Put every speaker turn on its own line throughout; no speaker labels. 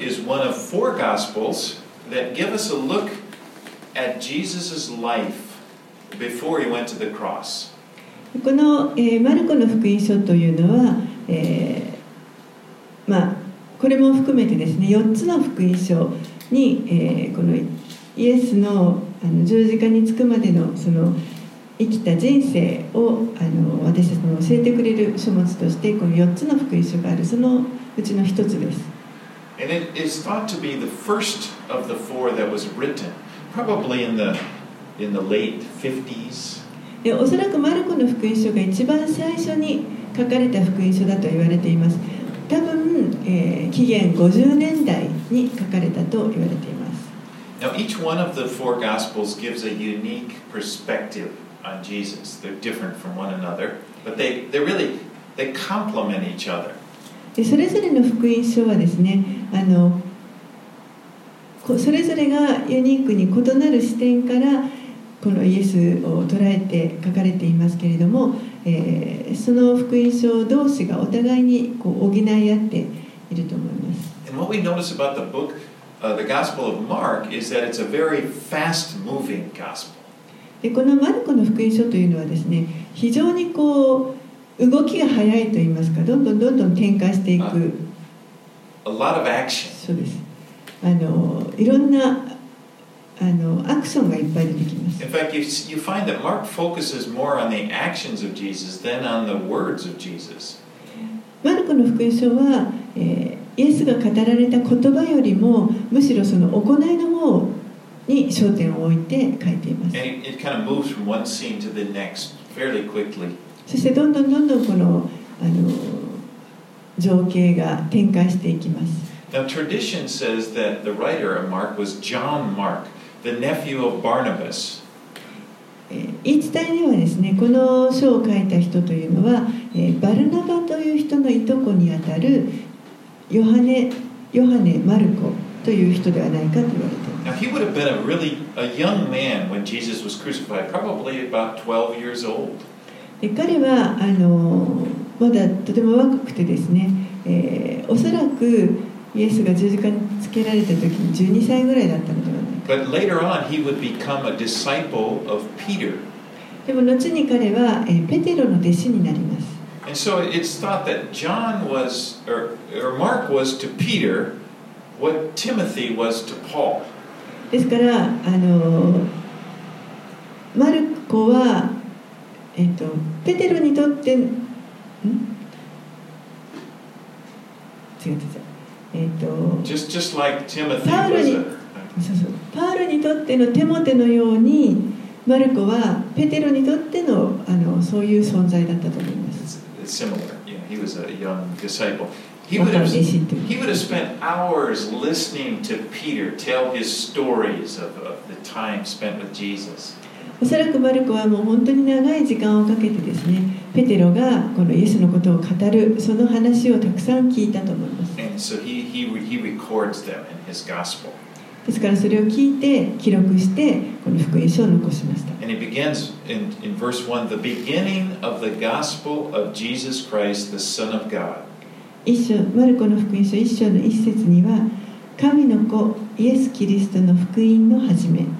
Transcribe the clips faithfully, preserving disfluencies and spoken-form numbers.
is one of four Gospels that give us a look at Jesus' life before he went to the cross.
この、えー、マルコの福音書というのは、えー、まあこれも含めてですね、よっつの福音書に、えー、このイエスの、あの十字架につくまでのその生きた人生をあの私たちに教えてくれる書物としてこのよっつの福音書がある、そのうちの一つです。
And it is thought to be the first of the four that was written, probably in the in the late fifties.
おそらくマルコの福音書が一番最初に書かれた福音書だと言われています。多分、えー、紀元ごじゅうねんだいに書かれたと言われています。
Now, each one of the four Gospels gives a unique perspective on Jesus. They're different from one another, but they they really they complement each other.
それぞれの福音書はですね、あのそれぞれがユニークに異なる視点からこのイエスを捉えて書かれていますけれども、えー、その福音書同士がお互いにこう補い合っていると思います。
And what we notice about the book, uh, the Gospel of Mark, is that it's a very fast-moving gospel.
でこのマルコの福音書というのはですね、非常にこう動きが速いといいますか、どんどんどんどん展開していく。
Uh, a lot of action.
そうです。あのいろんなあのアクションがいっぱい出てきます。
In fact, you, you find that Mark focuses more on the actions of Jesus than on the words of Jesus.
マルコの福音書は、えー、イエスが語られた言葉よりもむしろその行いの方に焦点を置いて書いています。
And it, it kind of moves from one scene to the next fairly quickly.
そしてどんどんどんどんこの、あの情景が展開していきます。
Now, tradition says that the writer of Mark was John Mark, the nephew of Barnabas.
言い伝えにはですね、この書を書いた人というのは、えー、バルナバという人のいとこにあたるヨハネ、ヨハネ・マルコという人ではないかと言われています。
Now, he would have been a really a young man when Jesus was crucified, probably about twelve years old.
で彼はあのまだとても若くてですね、えー、おそらくイエスが十字架につけられた時にじゅうにさいぐらいだったのではないか。
But later on, he would become a disciple of Peter.
でも後に彼は、えー、ペテロの弟子になります。
And so it's thought that John was, or, or Mark was to Peter what Timothy was to Paul.
ですからあのマルコは、えー、とペテロにとってん違う違うえー、と
Just, just like Timothy
パウロ
was
に
a,
そうそうパウロにとってのテモテのようにマルコはペテロにとっての、あのそういう存在だったと思います。
it's, it's similar. Yeah, he was a young disciple. He would have, he would have spent hours listening to Peter tell his stories of, of the time spent with Jesus.
おそらくマルコはもう本当に長い時間をかけてですね、ペテロがこのイエスのことを語るその話をたくさん聞いたと思います。
And so he, he, he records them in his gospel.
ですからそれを聞いて記録してこの福音書を残しました。
And he begins in, in verse one, the beginning of the gospel of Jesus Christ, the Son of God.
一章、マルコの福音書一章の一節には、神の子イエス・キリストの福音の始め。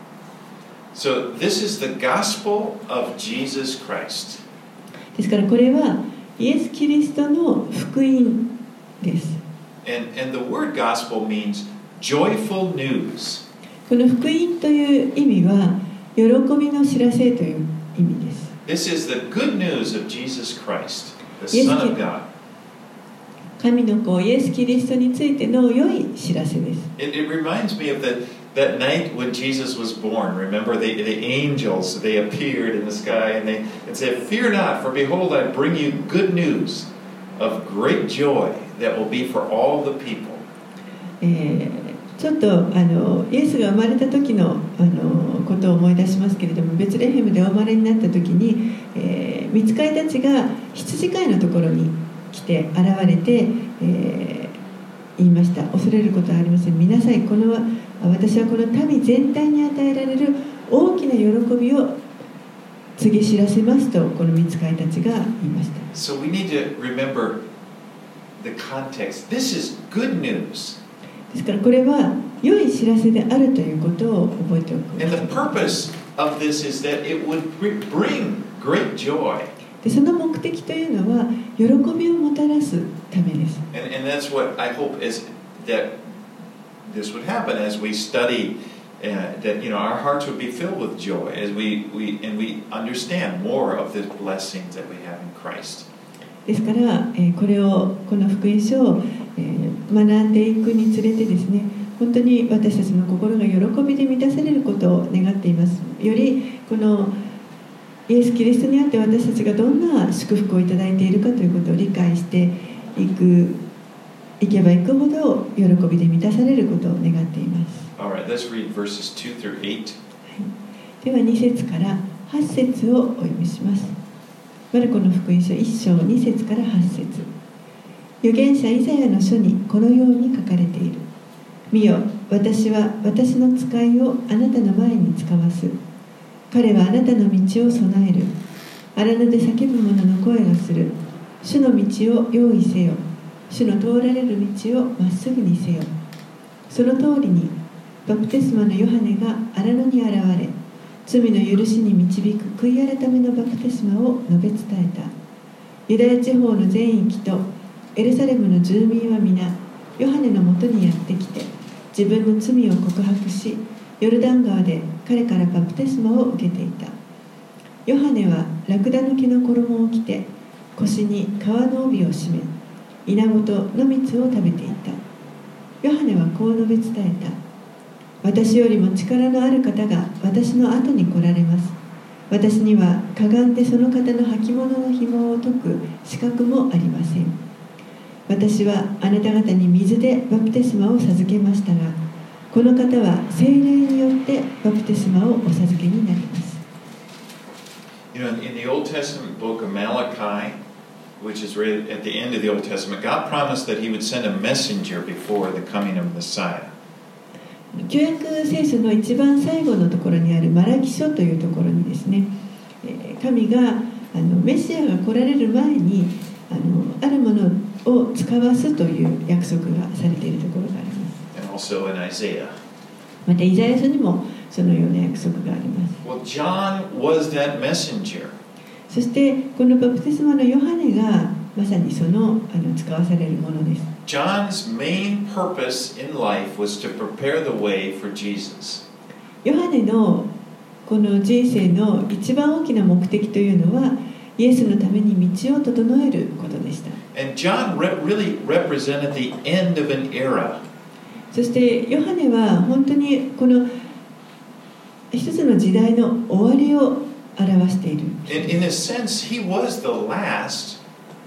So this is the gospel of Jesus Christ.
ですからこれはイエス・キリストの福音です。
And, and the word gospel means joyful news.
この福音という意味は喜びの知らせという意味です。
This is the good news of Jesus Christ, the Son of God.
神の子イエス・キリストについての良い知らせです。
It, it reminds me of the, that night when Jesus was born. Remember, the, the angels, they appeared in the sky and they and said, "Fear not, for behold, I bring you good news of great joy that will be for all the people."
えーちょっとあのイエスが生まれた時のあのことを思い出しますけれども、ベツレヘムでお生まれになった時に、えー、御使いたちが羊飼いのところに来て現れて、えー、言いました。恐れることはありません。見なさい、この私はこの民全体に与えられる大きな喜びを告げ知らせますと、この御使いたちが言いました。
So we need to remember the context. This is good news.
でですからこれは良い知らせであるということを覚えておく。
And the purpose of this is that it would bring great joy.
でその目的というのは喜びをもたらすためです。
And, and that's what I hope is that this would happen as we study, uh, that you know our hearts would be filled with joy as we, we and we understand more of the blessings that we have in Christ.
ですから、えー、これをこの福音書を、えー、学んでいくにつれてですね、本当に私たちの心が喜びで満たされることを願っています。よりこのイエス・キリストにあって私たちがどんな祝福をいただいているかということを理解していくいけばいくほど喜びで満たされることを願っています。
Alright, let's read verses two through eight.
ではに節からはち節をお読みします。マルコの福音書いっ章に節からはち節。預言者イザヤの書にこのように書かれている。見よ、私は私の使いをあなたの前に使わす。彼はあなたの道を備える。荒野で叫ぶ者の声がする。主の道を用意せよ。主の通られる道をまっすぐにせよ。その通りにバプテスマのヨハネが荒野に現れ、罪の許しに導く悔い改めのバプテスマを述べ伝えた。ユダヤ地方の全域とエルサレムの住民は皆ヨハネのもとにやってきて、自分の罪を告白し、ヨルダン川で彼からバプテスマを受けていた。ヨハネはラクダの毛の衣を着て、腰に革の帯を締め、稲子と野蜜を食べていた。ヨハネはこう述べ伝えた。私よりも力のある方が私の後に来られます。私にはかがんでその方の履物の紐を解く資格もありません。私はあなた方に水でバプテスマを授けましたが、この方は聖霊によってバプテスマをお授けになります。
You know, in the Old Testament book of Malachi, which is right at the end of the Old Testament, God promised that He would send a messenger before the coming of Messiah.
旧約聖書の一番最後のところにあるマラキ書というところにですね、神があのメシアが来られる前にあのあるものを使わすという約束がされているところがあります。
And also in Isaiah.
またイザヤ書にもそのような約束があります。
Well, John was that messenger.
そしてこのバプテスマのヨハネがまさにその、あの使わされるものです。
John's main purpose in life was to prepare the way for Jesus.
ヨハネのこの人生の一番大きな目的というのはイエスのために道を整えることでした。
And John re- really represented the end of an era.
そしてヨハネは本当にこの一つの時代の終わりを表している。
In, in a sense, he was the last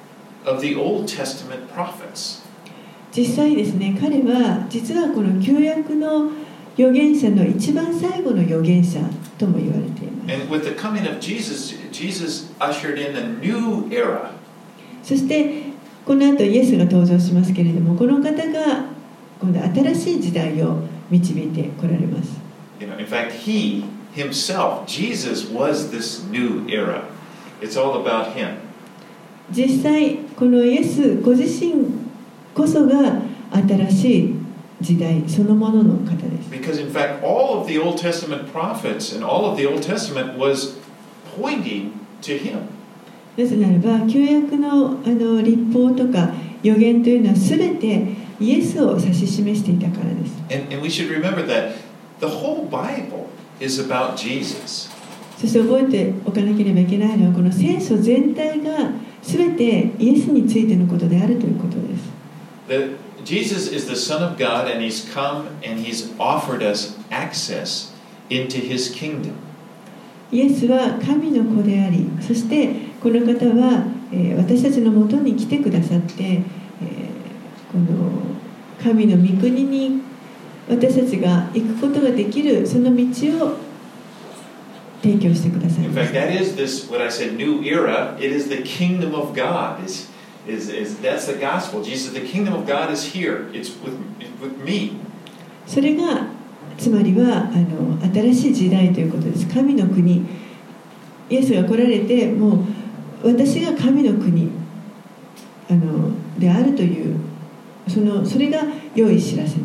of the Old Testament prophets.
実際ですね、彼は実はこの旧約の預言者の一番最後の預言者とも言われています。
And with the coming of Jesus, Jesus ushered in a new era.
そしてこの後イエスが登場しますけれども、この方が今度新しい時代を導いてこられます。
You know, in fact, he himself, Jesus, was this new era. It's all about him.
実際このイエスご自身こそが新しい時代そのものの方です。
Because in fact, all of the Old Testament prophets and all of the Old Testament was pointing to him.
なぜならば旧約のあの律法とか預言というのはすべてイエスを指し示していたからです。
And, and we should remember that the whole Bible is about Jesus.
そして覚えておかなければいけないのはこの聖書全体がすべてイエスについてのことであるということです。
That Jesus is the Son of God and He's come and He's offered us access into His kingdom.
イエスは神の子であり、そしてこの方は、えー、私たちのもとに来てくださって、えー、この神の御国に私たちが行くことができるその道を提供してください。
In fact, that is this what I said new era. It is the kingdom of God. Is is is that's the gospel. Jesus, the kingdom of God is here. It's with with me.
それがつまりはあの新しい時代ということです。神の国、イエスが来られてもう私が神の国あのであるというそのそれが良い知らせになります。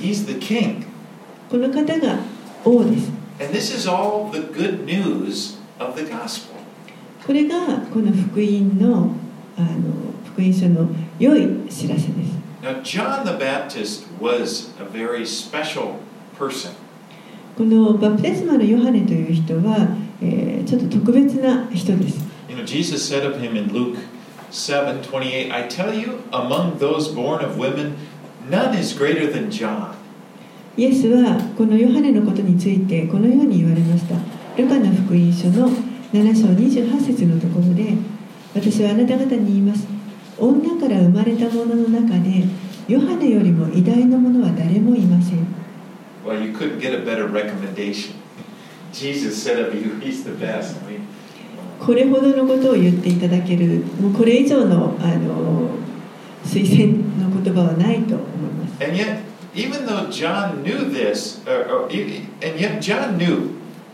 he's the king.
この方が王です。
And this is all the good news of the gospel.
これがこの福音の、あの福音書の良い知らせです。
Now, John the Baptist was a very special person.
このバプテスマのヨハネという人は、えー、ちょっと特別な人です。
You know, Jesus said of him in Luke seven twenty-eight, I tell you, among those born of women, none is greater than John.
イエスはこのヨハネのことについてこのように言われました。ルカの福音書のなな章にじゅうはち節のところで、私はあなた方に言います。女から生まれた者の中で、ヨハネよりも偉大な者は誰もいません。
Well, you couldn't get a better recommendation. Jesus said of you, he's the best. I mean,
これほどのことを言っていただける、もうこれ以上の、あの推薦の言葉はないと思います。
And yet, even though John knew this, or, or, and yet John knew,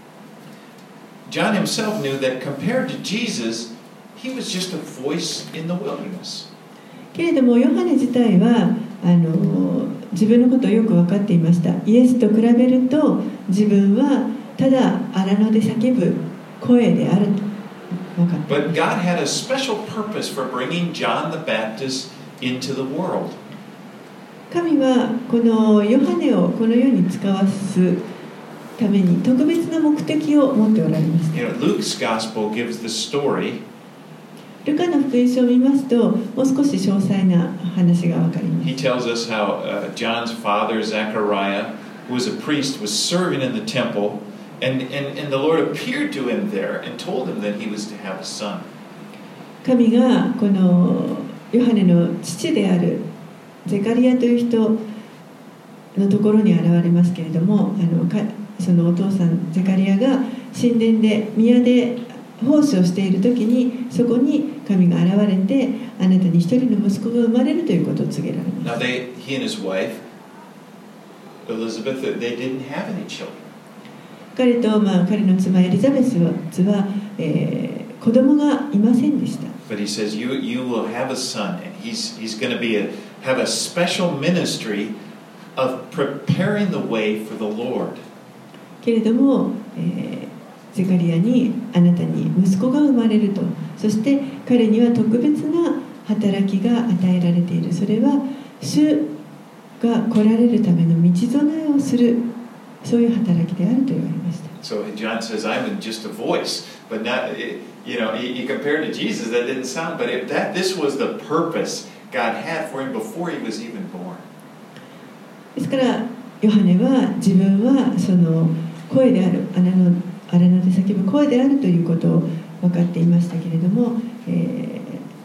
John himself knew that compared to Jesus, he was just a voice in the wilderness.
けれどもヨハネ自体はあの自分のことをよく分かっていました。イエスと比べると自分はただ荒野で叫ぶ声であると分かって。
But God had a special purpose for bringing John the Baptist into the world.
神はこのヨハネをこの世に使わすために特別な目的を持っておられます。
You know, Luke's gospel gives the story.
ルカの福音書を見ますと、もう少し詳細な話がわかります。
He tells us how uh, John's father, Zechariah, who was a priest, was serving in the temple, and, and, and the Lord appeared to him there and told him that he was to have a son.
神がこのヨハネの父であるゼカリアという人のところに現れますけれども、あのかそのお父さんゼカリアが神殿で宮で奉仕をしている時にそこに神が現れてあなたに一人の息子が生まれるということを告げられます。
Now they, he and his wife, Elizabeth, they didn't have any children.
彼と、まあ、彼の妻エリザベスは、えー、子供がいませんでした。
But he says, you, you will have a son, and he's, he's going to be a, have a special ministry of preparing the way for the Lord.
けれども、えーゼカリアにあなたに息子が生まれると、そして彼には特別な働きが与えられている。それは主が来られるための道備えをする、そういう働きであると言われました。
So John says, I'm just a voice, but not, you know, he compared to Jesus, that didn't sound, but if that this was the purpose God had for him before he was even born.
ですからヨハネは自分はその声である、あの荒野で叫ぶ声であるということを分かっていましたけれども、え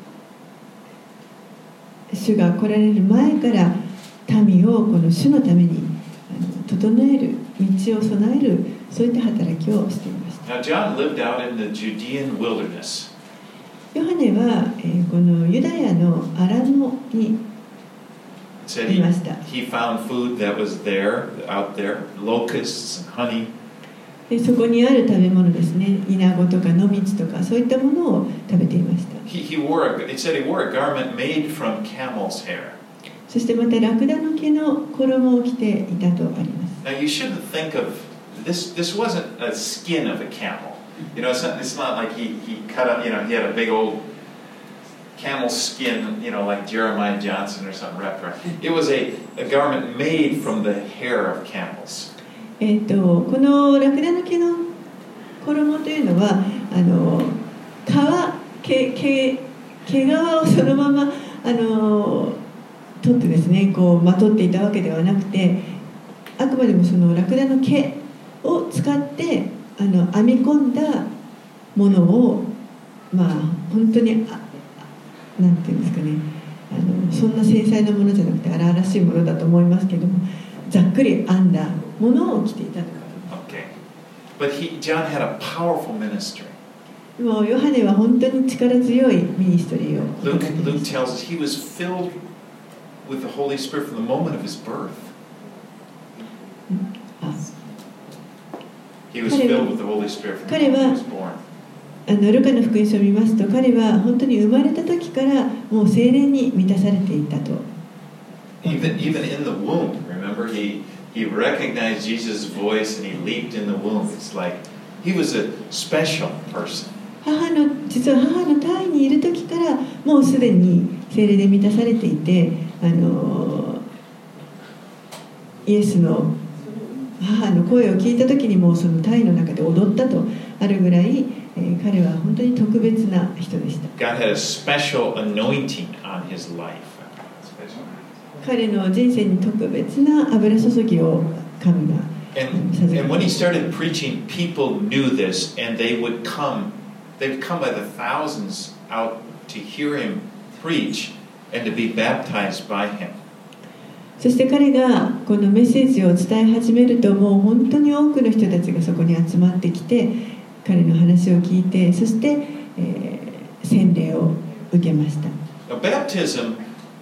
ー、主が来られる前から民をこの主のために整える、道を備える、そういった働きをしていました。
Now, John lived out in the Judean wilderness.
ヨハネは、えー、このユダヤの荒野にいました。
He, he found food that was there, out there, locusts and honey.
でそこにある食べ物ですね、イナゴとか野蜜とかそういったものを食べていました。
He, he wore a, it said he wore a garment made from camel's hair.
そしてまたラクダの毛の衣を着ていたとあります。
Now you shouldn't think of this. This wasn't a skin of a camel. You know, it's not, it's not like he he cut up. You know, he had a big old camel skin. You know, like Jeremiah Johnson or something wrapped around. It was a a garment made from the hair of camels.
えー、とこのラクダの毛の衣というのはあの皮毛毛毛皮をそのままあの取ってですねこうまとっていたわけではなくて、あくまでもそのラクダの毛を使ってあの編み込んだものをまあ本当にあなんていうんですかね、あのそんな繊細なものじゃなくて荒々しいものだと思いますけども、ざっくり編んだものを着ていたということです。
Okay. But he, John had a powerful ministry.
もうヨハネは本当に力強いミニストリーを。
Luke, Luke tells us he was filled with the Holy Spirit from the moment of his birth. He was filled with the Holy Spirit from the moment he was born.
あのルカの福音書を見ますと、彼は本当に生まれた時からもう聖霊に満たされていたと。
Even, even in the womb, remember, he, he, he recognized Jesus' voice and he leaped in the womb. It's like he was a special person.
母の実は母の胎にいる時からもうすでに聖霊で満たされていて、あのイエスの母の声を聞いた時にもうその胎の中で踊ったとあるぐらい、えー、彼は本当に特別な人でした。
God had a special anointing on his life.
彼の人生に特別な油注ぎを神が
And, and when he started preaching, people knew this, and they would come. They'd come by the thousands out to hear him preach and to be baptized by him.
そして彼がこのメッセージを伝え始めると、もう本当に多くの人たちがそこに集まってきて、彼の話を聞いて、そして、えー、洗礼を受けました。
Now, baptism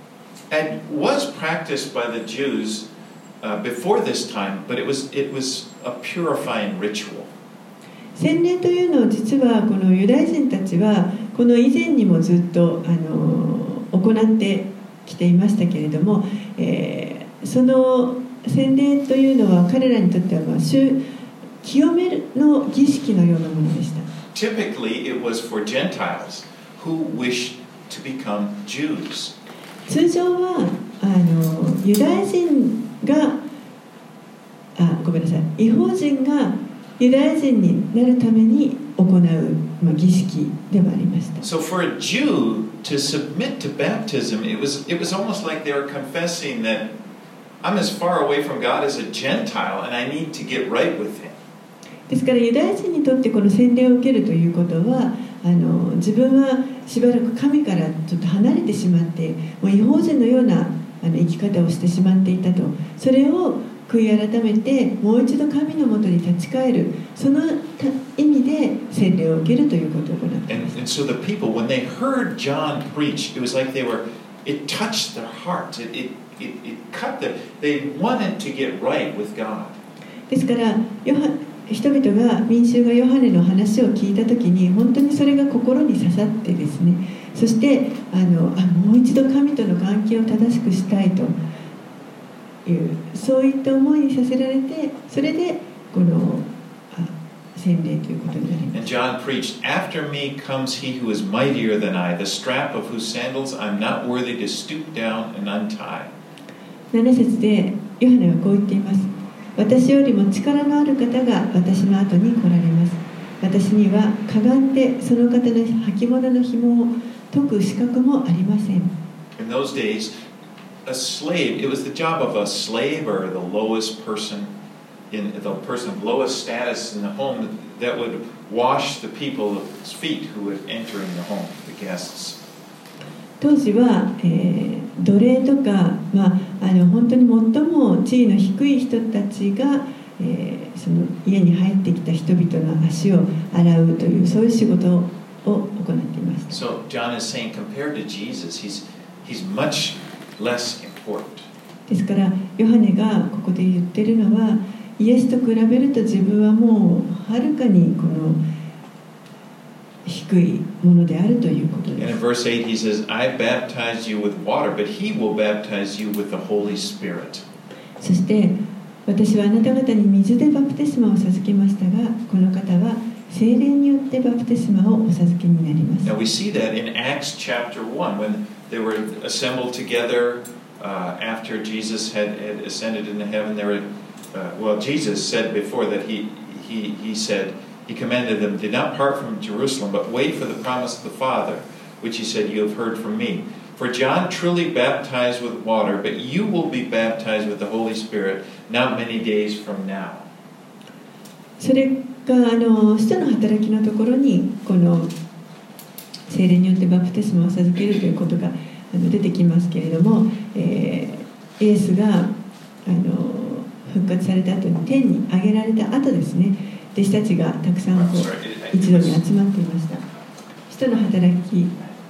was practiced by the Jews Uh, before this time, but it was it was a purifying ritual.
洗礼というのを実はこのユダヤ人たちはこの以前にもずっとあの行ってきていましたけれども、えー、その洗礼というのは彼らにとってはまあ清めるの儀式のようなものでした。
Typically, it was for Gentiles who wished to become Jews.
通常はあのユダヤ人があごめんなさい異邦人がユダヤ人になるために行う、まあ、儀式でもありました。
So for a Jew to submit to baptism, it was it was almost like they were confessing that I'm as far away from God as a Gentile, and I need to get right with Him.
ですからユダヤ人にとってこの洗礼を受けるということは、あの自分はしばらく神からちょっと離れてしまって、もう異邦人のようなあの生き方をしてしまっていたと、それを悔い改めてもう一度神のもとに立ち返る、その意味で洗礼を受けるということを行っています。
And, and so the people, when they heard John preach, it was like they were, it touched their hearts. It, it, it, it cut them. They wanted to get right with God.
ですからヨハ人々が民衆がヨハネの話を聞いたときに本当にそれが心に刺さってですね、そしてあのあもう一度神との関係を正しくしたいというそういった思いにさせられて、それでこのあ洗礼ということになります。
And John preached, After me comes he who is mightier than I, the strap of whose sandals I'm not worthy to stoop down and untie.
なな節でヨハネはこう言っています。私よりも力のある方が私の後に来られます。私にはかがんでその方の履物の紐を解く資格もありません。
In those days, a slave, it was the job of a slave or the lowest person, in the person of lowest status in the home that would wash the people's feet who would enter in the home, the guests.
当時は、えー、奴隷とか、まあ、あの本当に最も地位の低い人たちが、えー、その家に入ってきた人々の足を洗うというそういう仕事を行っていました。
So John is saying, compared to Jesus, he's he's much less important.
ですからヨハネがここで言ってるのは、イエスと比べると自分はもうはるかにこの低いものであるということです。
And in verse eight he says, I baptize you with water, but he will baptize you with the Holy Spirit.
そして私はあなた方に水でバプテスマを授けましたが、この方は聖霊によってバプテスマをお授けになります。
Now we see that in Acts chapter one, when they were assembled together uh, after Jesus had, had ascended into heaven. They were, uh, well, Jesus said before that he, he, he said, He commanded them, do not part from Jerusalem, but wait for the promise of the Father, which he said, you have heard from me. For John truly baptized with water, but you will be baptized with the Holy Spirit not many days from now.
それがあの使徒の働きのところにこの聖霊によってバプテスマを授けるということがあの出てきますけれども、えー、イエスがあの復活された後に天に上げられた後ですね、弟子たちがたくさんこう一度に集まっていました。使徒の働き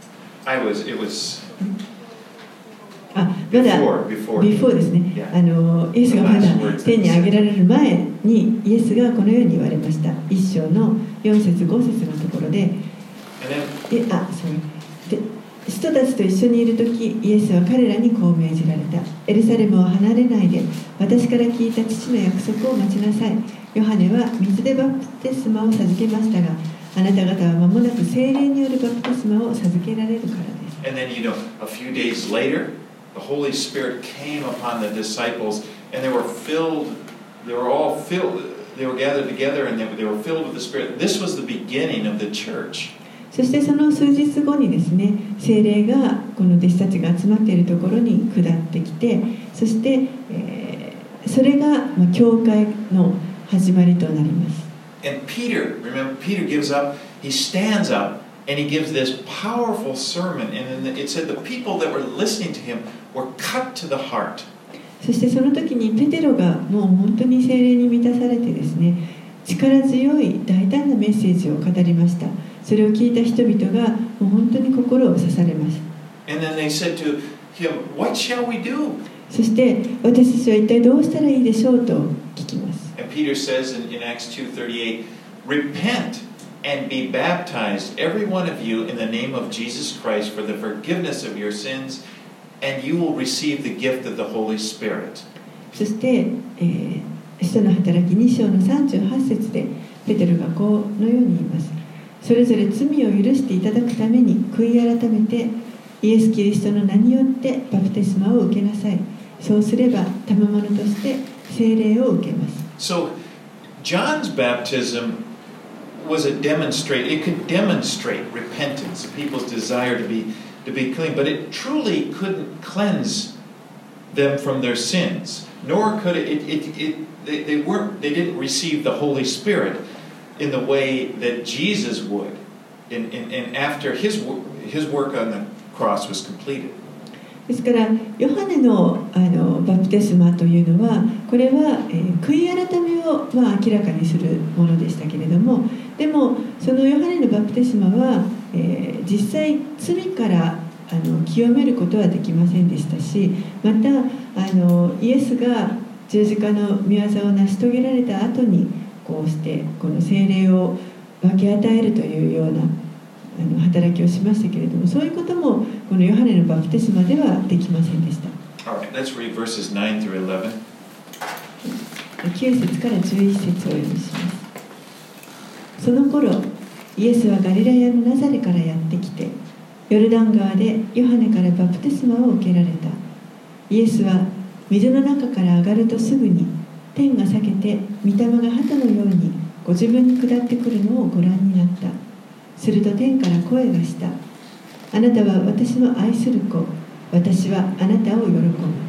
I was, it was
あまだ
before, before.
before ですね、
Yeah.
あのイエスがまだ天に上げられる前にイエスがこのように言われました。一章のよん節ご節のところで、
And then,
えあそうで人たちと一緒にいるとき、イエスは彼らにこう命じられた。エルサレムを離れないで、私から聞いた父の約束を待ちなさい。ヨハネは水でバプテスマを授けましたが、あなた方は間もなく聖霊によるバプテスマを授けられるからです。
And then, you know, a few days later, the Holy Spirit came upon the disciples, and they were filled, they were all filled, they were gathered together, and they, they were filled with the Spirit. This was the beginning of the church.
そしてその数日後にですね、聖霊がこの弟子たちが集まっているところに下ってきて、そして、えー、それが、まあ、教会の始まりとなります。
And Peter, remember, Peter gives up, he stands up, and he gives this powerful sermon, and it said the people that were listening to him were cut to the heart.
そしてその時にペテロがもう本当に聖霊に満たされてですね、力強い大胆なメッセージを語りました。それを聞いた人々がもう本当に心を刺されます。
And then they said to him, "What shall we do?"
そして私たちは一体どうしたらいいでしょうと聞きます。
And Peter says in, in Acts two thirty-eight, "Repent and be baptized, every one of you, in the name of Jesus Christ for the forgiveness of your sins, and you will receive the gift of the Holy Spirit."
そして、えー、使徒の働きに章のさんじゅうはち節でペテロがこのように言います。それぞれ罪を許していただくために悔い改めてイエス・キリストの名によってバプテスマを受けなさい。そうすれば賜物として聖霊を受けます。
So John's baptism was a demonstrate. It could demonstrate repentance, people's desire to be to be clean, but it truly couldn't cleanse them from their sins. Nor could it. It. It. it they, they weren't. They didn't receive the Holy Spirit in the way that Jesus would, and, and, and after his his work on the cross was completed.
ですからヨハネ の, あのバプテスマというのはこれは、えー、悔い改めを、まあ、明らかにするものでしたけれども、でもそのヨハネのバプテスマは、えー、実際罪からあの清めることはできませんでしたし、またあのイエスが十字架の御業を成し遂げられた後にこうしてこの聖霊を分け与えるというようなあの働きをしましたけれども、そういうこともこのヨハネのバプテスマではできませんでした。
All right, let's read verses nine through eleven.
きゅう節からじゅういち節をお読みします。その頃、イエスはガリラヤのナザレからやってきて、ヨルダン川でヨハネからバプテスマを受けられた。イエスは水の中から上がるとすぐに、天が裂けて御霊が鳩のようにご自分に下ってくるのをご覧になった。すると天から声がした。あなたは私の愛する子、私はあなたを喜ぶ。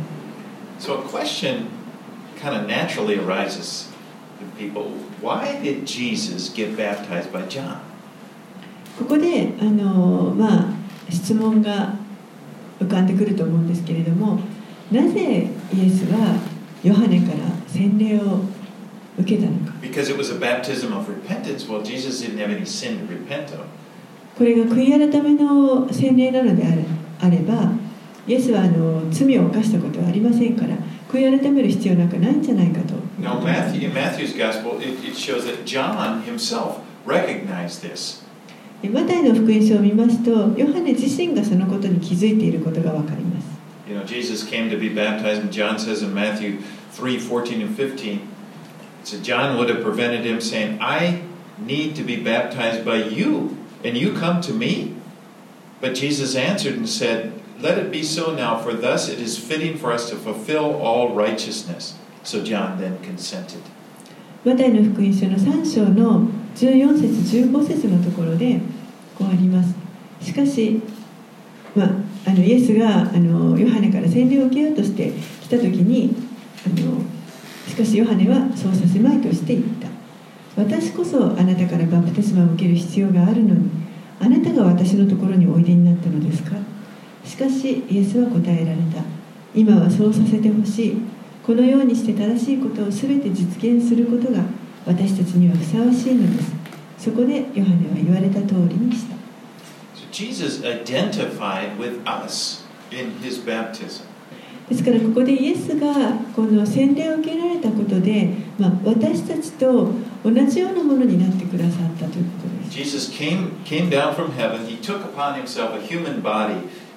So a question kind of naturally arises to people. Why did Jesus get baptized by John?
ここであの、まあ、質問が浮かんでくると思うんですけれども、なぜイエスはヨハネから洗礼を受けたのか。
Because it was a baptism of repentance. Well, Jesus didn't have any sin to repent of.
これが悔い改めの洗礼なのであれ、あれば、イエスはあの罪を犯したことはありませんから、悔い改める必要なんかないんじゃないかと。
Now, Matthew, in Matthew's gospel, it, it shows that John himself recognized this.
マタイの福音書を見ますと、ヨハネ自身がそのことに気づいていることがわかります。
You know, Jesus came to be baptized, and John says in Matthew three fourteen and fifteen, so John would have prevented him saying, I need to be baptized by you, and you come to me? But Jesus answered and said, Let it be so now, for thus it is fitting for us to fulfill all righteousness. So John then consented.
マタイの福音書のさん章のじゅうよん節じゅうご節のところでこうあります。しかし、まあ、あのイエスがあのヨハネから洗礼を受けようとして来た時にあのしかしヨハネはそうさせまいとして言った。私こそあなたからバプテスマを受ける必要があるのに、あなたが私のところにおいでになったのですか。しかしイエスは答えられた。今はそうさせてほしい。このようにして正しいことをすべて実現することが私たちにはふさわしいのです。そこでヨハネは言われた通りにした。
So Jesus identified with us in his baptism.
ですからここでイエスがこの洗礼を受けられたことで、まあ、私たちと同じようなものになってくださったということです。
Jesus came, came down from heaven. He took upon himself a human body,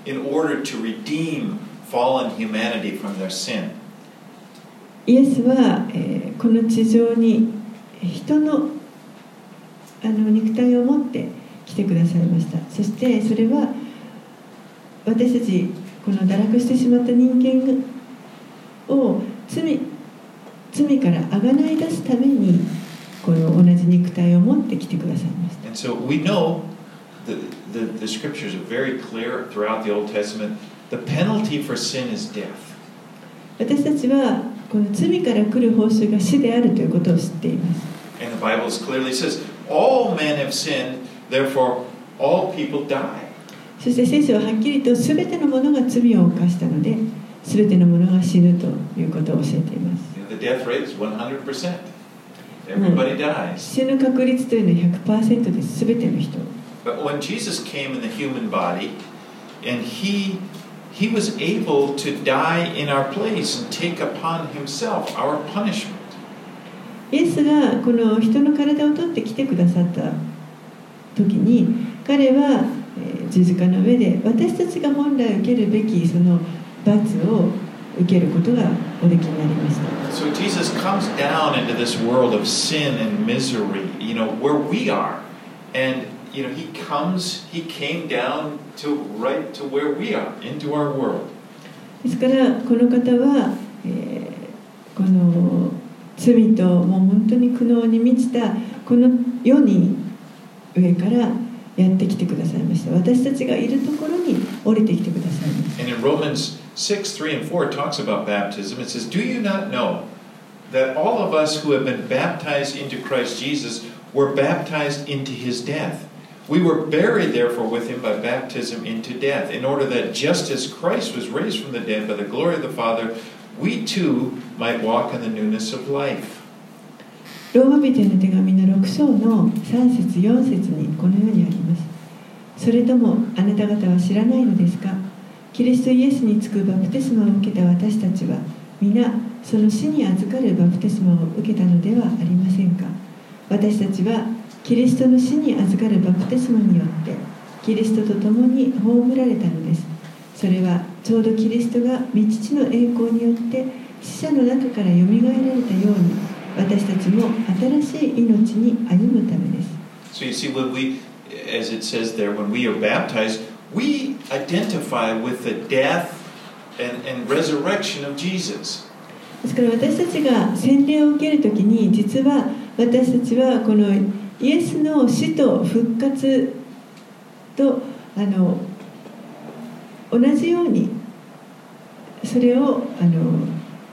in order to redeem fallen humanity from their sin.
イエスは、えー、この地上に人の、あの肉体を持って来てくださいました。そしてそれは私たちこの堕落してしまった人間を罪、罪からあがない出すためにこの同じ肉体を持って来てくださいました。
And so we know the, the, the scriptures are very clear throughout the Old Testament. The penalty for sin is death.
私たちはこの罪から来る報酬が死であるということを知っています。
And the Bible clearly says, all men have sinned, therefore all people die.
そして聖書ははっきりと全ての者が罪を犯したので全ての者が死ぬということを教えています。
The death rate is one hundred percent. Everybody dies.
死ぬ確率というのは ひゃくパーセント です。全ての人。
But when Jesus came in the human body, and he he was able to die in our place and take upon himself our punishment.
イエスがこの人の体を取ってきてくださった時に彼は十字架の上で私たちが本来受けるべきその罰を受けることがおできになりました。
So Jesus comes down into this world of sin and misery, you know, where we are. And, you know, he comes, he came down to right to where we are, into our world.
ですからこの方は、えー、この罪ともう本当に苦悩に満ちたこの世に上からやってきてくださいました。私たちがいるところに降りてきてくださいました。
And in Romans six, three and four, it talks about baptism. It says, do you not know that all of us who have been baptized into Christ Jesus were baptized into his death? We were buried, therefore, with him by baptism into death, in order that just as Christ was raised from the dead by the glory of the Father, we too might walk in the newness of life.
ローマ人への手紙のろく章のさん節よん節にこのようにあります。それともあなた方は知らないのですか？キリストイエスにつくバプテスマを受けた私たちは皆その死に預かるバプテスマを受けたのではありませんか？私たちはキリストの死に預かるバプテスマによってキリストと共に葬られたのです。それはちょうどキリストが御父の栄光によって死者の中からよみがえられたように私たちも新しい命に歩むためです。
So you see, when we, as it says there, when we are baptized, we identify with the death and, and resurrection of Jesus.
ですから私たちが洗礼を受けるときに実は私たちはこのイエスの死と復活とあの同じようにそれをあの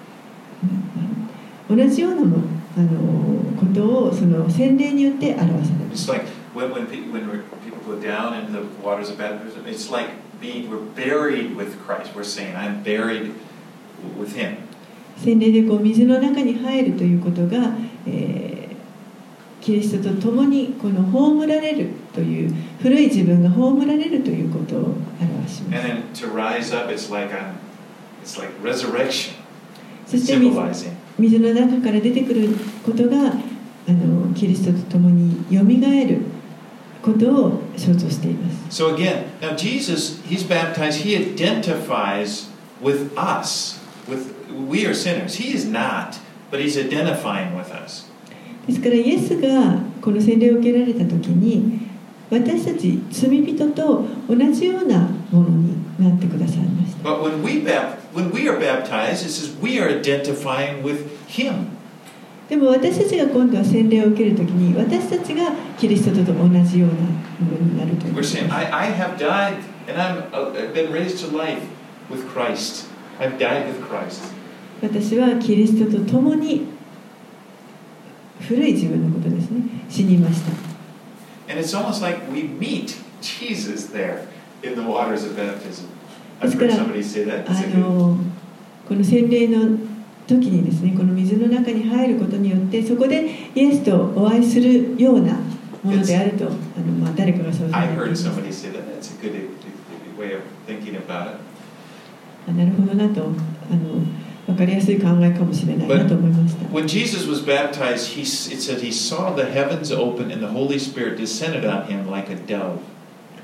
同じようなもあのことをその洗礼によって表される。
It's like when, when, when people go down into the waters of baptism, it's like being, we're buried with Christ. We're saying, I'm buried with him.
洗礼でこう水の中に入るということが、えー、キリストと共にこの葬られるという古い自分が葬られるということを表します。
And then to rise up, it's like, a, it's like resurrection.
そして水, 水の中から出てくることがあのキリストと共によみがえることを象徴しています。
So again, now Jesus, he's baptized, he identifies with us. With, we are sinners. He is not, but he's identifying with us.
ですからイエスがこの洗礼を受けられたときに私たち罪人と同じようなものになってくださいました。
But when we, when we are baptized, it says we are identifying with him.
でも私たちが今度は洗礼を受けるときに私たちがキリストと同じようなものになるということです。
We're saying, I, I have died and I'm, I've been raised to life with Christ. I've died with Christ.
私はキリストと共に古い自分のことですね、死にました。
And it's almost like we meet Jesus there in the waters of baptism. I've heard somebody say that.
あのこの洗礼の時にですね、この水の中に入ることによってそこでイエスとお会いするようなものであると、あのまあ誰かがそう言っています。
I heard somebody say that. That's a good way of thinking about it.
あ、なるほどなと、あの分かりやすい考えかもしれないなと思いました。
When Jesus was baptized, he, it said he saw the heavens open and the Holy Spirit descended on him like a dove.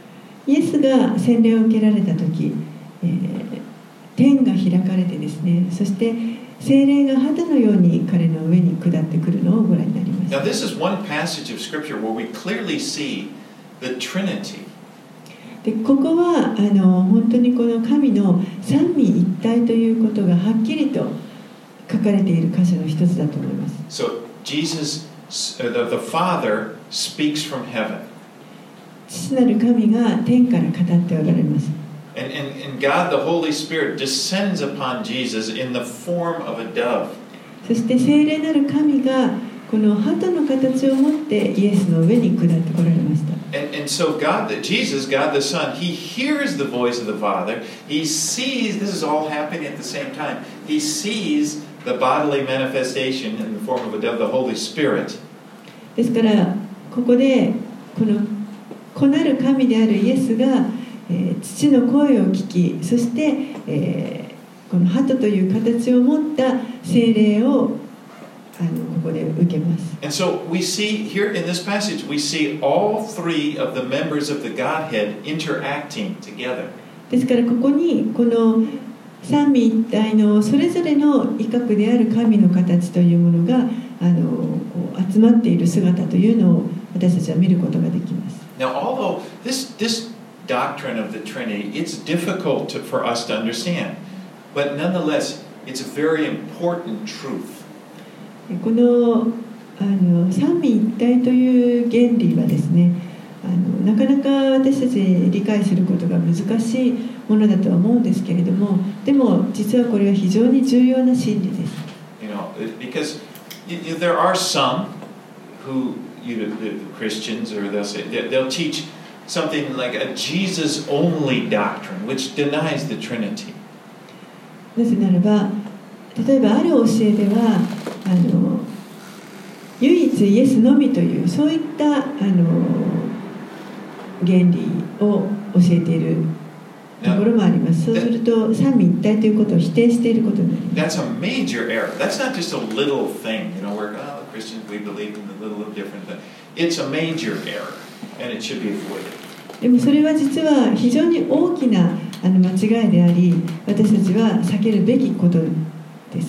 イエスが洗礼を受けられた時、えー、天が開かれてですね、そして聖霊が肌のように彼の上に下ってくるのをご覧になります。
Now, this is one passage of Scripture where we clearly see the Trinity.
でここはあの本当にこの神の三位一体ということがはっきりと書かれている箇所の一つだと思います。
So, Jesus, the, the Father, speaks from heaven.
父なる神が天から語っておられます。
And, and, and God, the Holy Spirit, descends upon Jesus in the form of a dove.
そして聖霊なる神がこの鳩の形を持ってイエスの上に下ってこられました。
And, and so God, Jesus, God the Son, He hears the voice of the Father. He sees, this is all happening at the same time. He sees the bodily manifestation in the form of a dove, the Holy Spirit.
ですからここでこの子なる神であるイエスが、えー、父の声を聞き、そして、えー、この鳩という形を持った聖霊をあのここで受けます。
And so we see here in this passage, we see all three of the members of the Godhead interacting together.
ですからここにこの三位一体のそれぞれの威嚇である神の形というものがあのこう集まっている姿というのを私たちは見ることができます。
Now, although this this doctrine of the Trinity, it's difficult to, for us to understand, but nonetheless, it's a very important truth.
このあの三位一体という原理はですね、あのなかなか私たち理解することが難しいものだとは思うんですけれども、でも実はこれは非常に重要な真理です。
You know, because you, there are some who, you know, the Christians, or they'll say they'll teach something like a Jesus-only doctrine, which denies the Trinity.
なぜならば、例えばある教えではあの唯一イエスのみというそういったあの原理を教えているところもあります。そうすると三位一体ということを否定していることになります。
That's a major error. That's not just a little thing, you know, where oh, Christians we believe in a little different thing. It's a major error, and it should be avoided.
でもそれは実は非常に大きなあの間違いであり、私たちは避けるべきことです。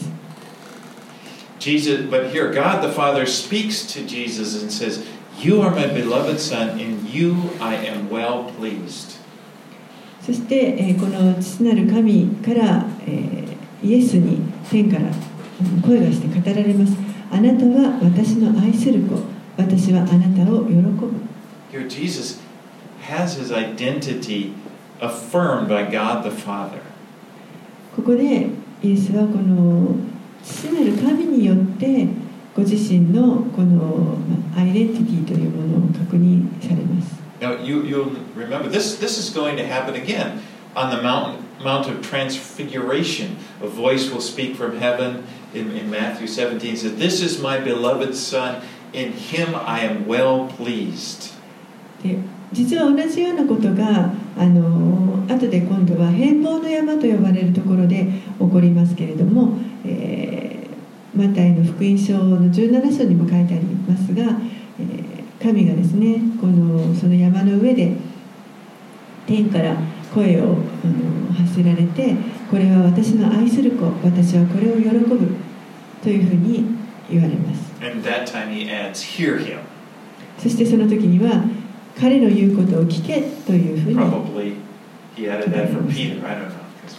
Jesus, but here God the Father speaks to Jesus and says, "You are my beloved Son, in you I am well pleased."
そして、えー、この父なる神から、えー、イエスに天から声がして語られます。あなたは私の愛する子、私はあなたを喜ぶ。
Here Jesus has his identity affirmed by God the Father.
ここでイエスはこの父なる神によってご自身のこのアイデンティティというものを確認されます。
Now you, you'll remember this, this is going to happen again on the mountain, Mount of Transfiguration. A voice will speak from heaven in, in Matthew seventeen. It says, "This is my beloved Son, in him I am well pleased."
で実は同じようなことがあの後で今度は変貌の山と呼ばれるところで起こりますけれども、えー、マタイの福音書のじゅうなな章にも書いてありますが、えー、神がですねこのその山の上で天から声をあの発せられて、これは私の愛する子、私はこれを喜ぶというふうに言われます。
And that time he adds, "Hear him."
そしてその時には彼の言うことを聞けというふうに
Probably he added that for Peter. I don't know, because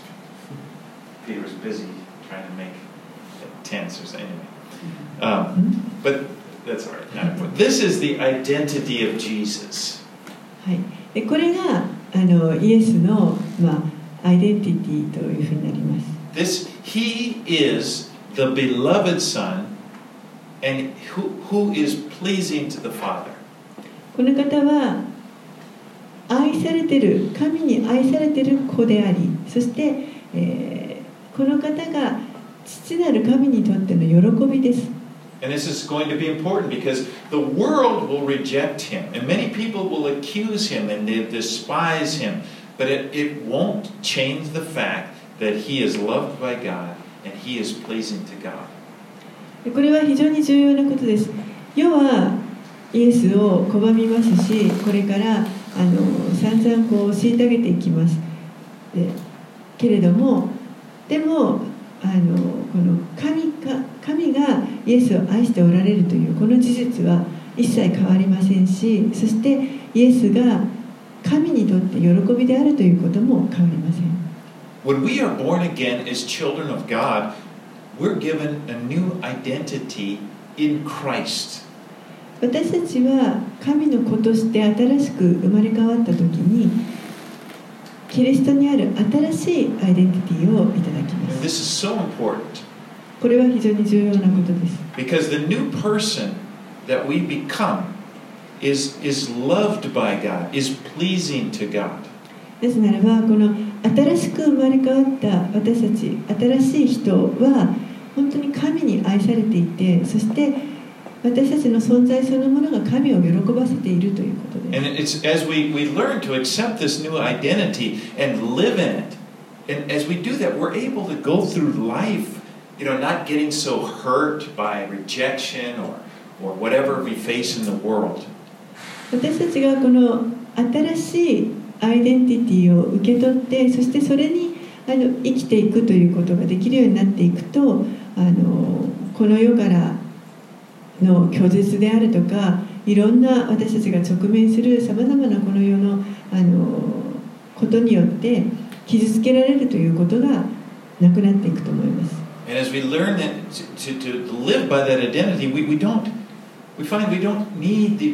Peter was busy trying to make tents or something. Anyway, um, but that's all right. Not important. This is the identity of Jesus.
はい。でこれがあのイエスのまあアイデンティティというふうになります。
This he is the beloved Son, and who who is pleasing to the Father.
この方は愛されている、神に愛されている子であり、そして、えー、この方が父なる神にとっての喜びです。
And this is going to be important because the world will reject him, and many people will accuse him and they despise him, but it, it won't change the fact that he is loved by God and he is pleasing to God.
これは非常に重要なことです。世はイエスを拒みますし、これからあの散々こう虐げていきます。でけれどもでもあのこの 神, か神がイエスを愛しておられるというこの事実は一切変わりませんし、そしてイエスが神にとって喜びであるということも変わりません。
When we are born again as children of God, we're given a new identity in Christ.
私たちは神の子として新しく生まれ変わったときに、キリストにある新しいアイデンティティをいただきます。
And this is so important.
これは非常に重要なことです。
Because the new person that we become is, is loved by God, is pleasing to God.
ですならば、この新しく生まれ変わった私たち、新しい人は本当に神に愛されていて、そして私たちの存在そのものが神を喜ばせているということです。
And it's as we, we learn to accept this new identity and live in it, and as we do that, we're able to go through life, you know, not getting so hurt by rejection or, or whatever we face in the world.
私たちがこの新しいアイデンティティを受け取って、そしてそれにあの生きていくということができるようになっていくと、あのこの世からの拒絶であるとか、いろんな私たちが直面するさまざまなこの世の、あのことによって傷つけられるということがなくなっていくと思います。
And as we learn that to, to, to live by that identity, we, we don't, we find we don't need the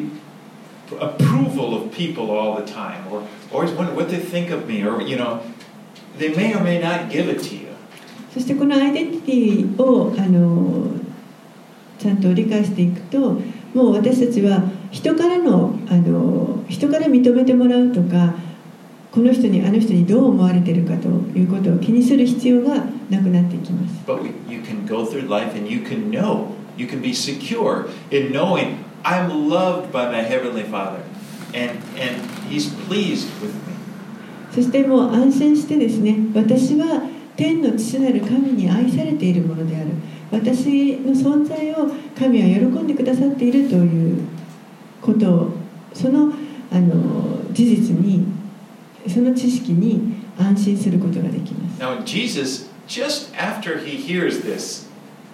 approval of people all the time, or always wonder what they think of me, or you know, they may or may not give it to you.
そしてこのアイデンティティをあのちゃんと理解していくと、もう私たちは人からのあの人から認めてもらうとか、この人にあの人にどう思われているかということを気にする必要がなくなっていきます。
But we, you can go through life and you can know, you can be secure in knowing I'm loved by my Heavenly Father, and, and He's pleased with me.
そしてもう安心してですね、私は天の父なる神に愛されているものである。私の存在を神は喜んでくださっているということを、その、あの事実に、その知識に安心することができます。
Now, Jesus, just after he hears this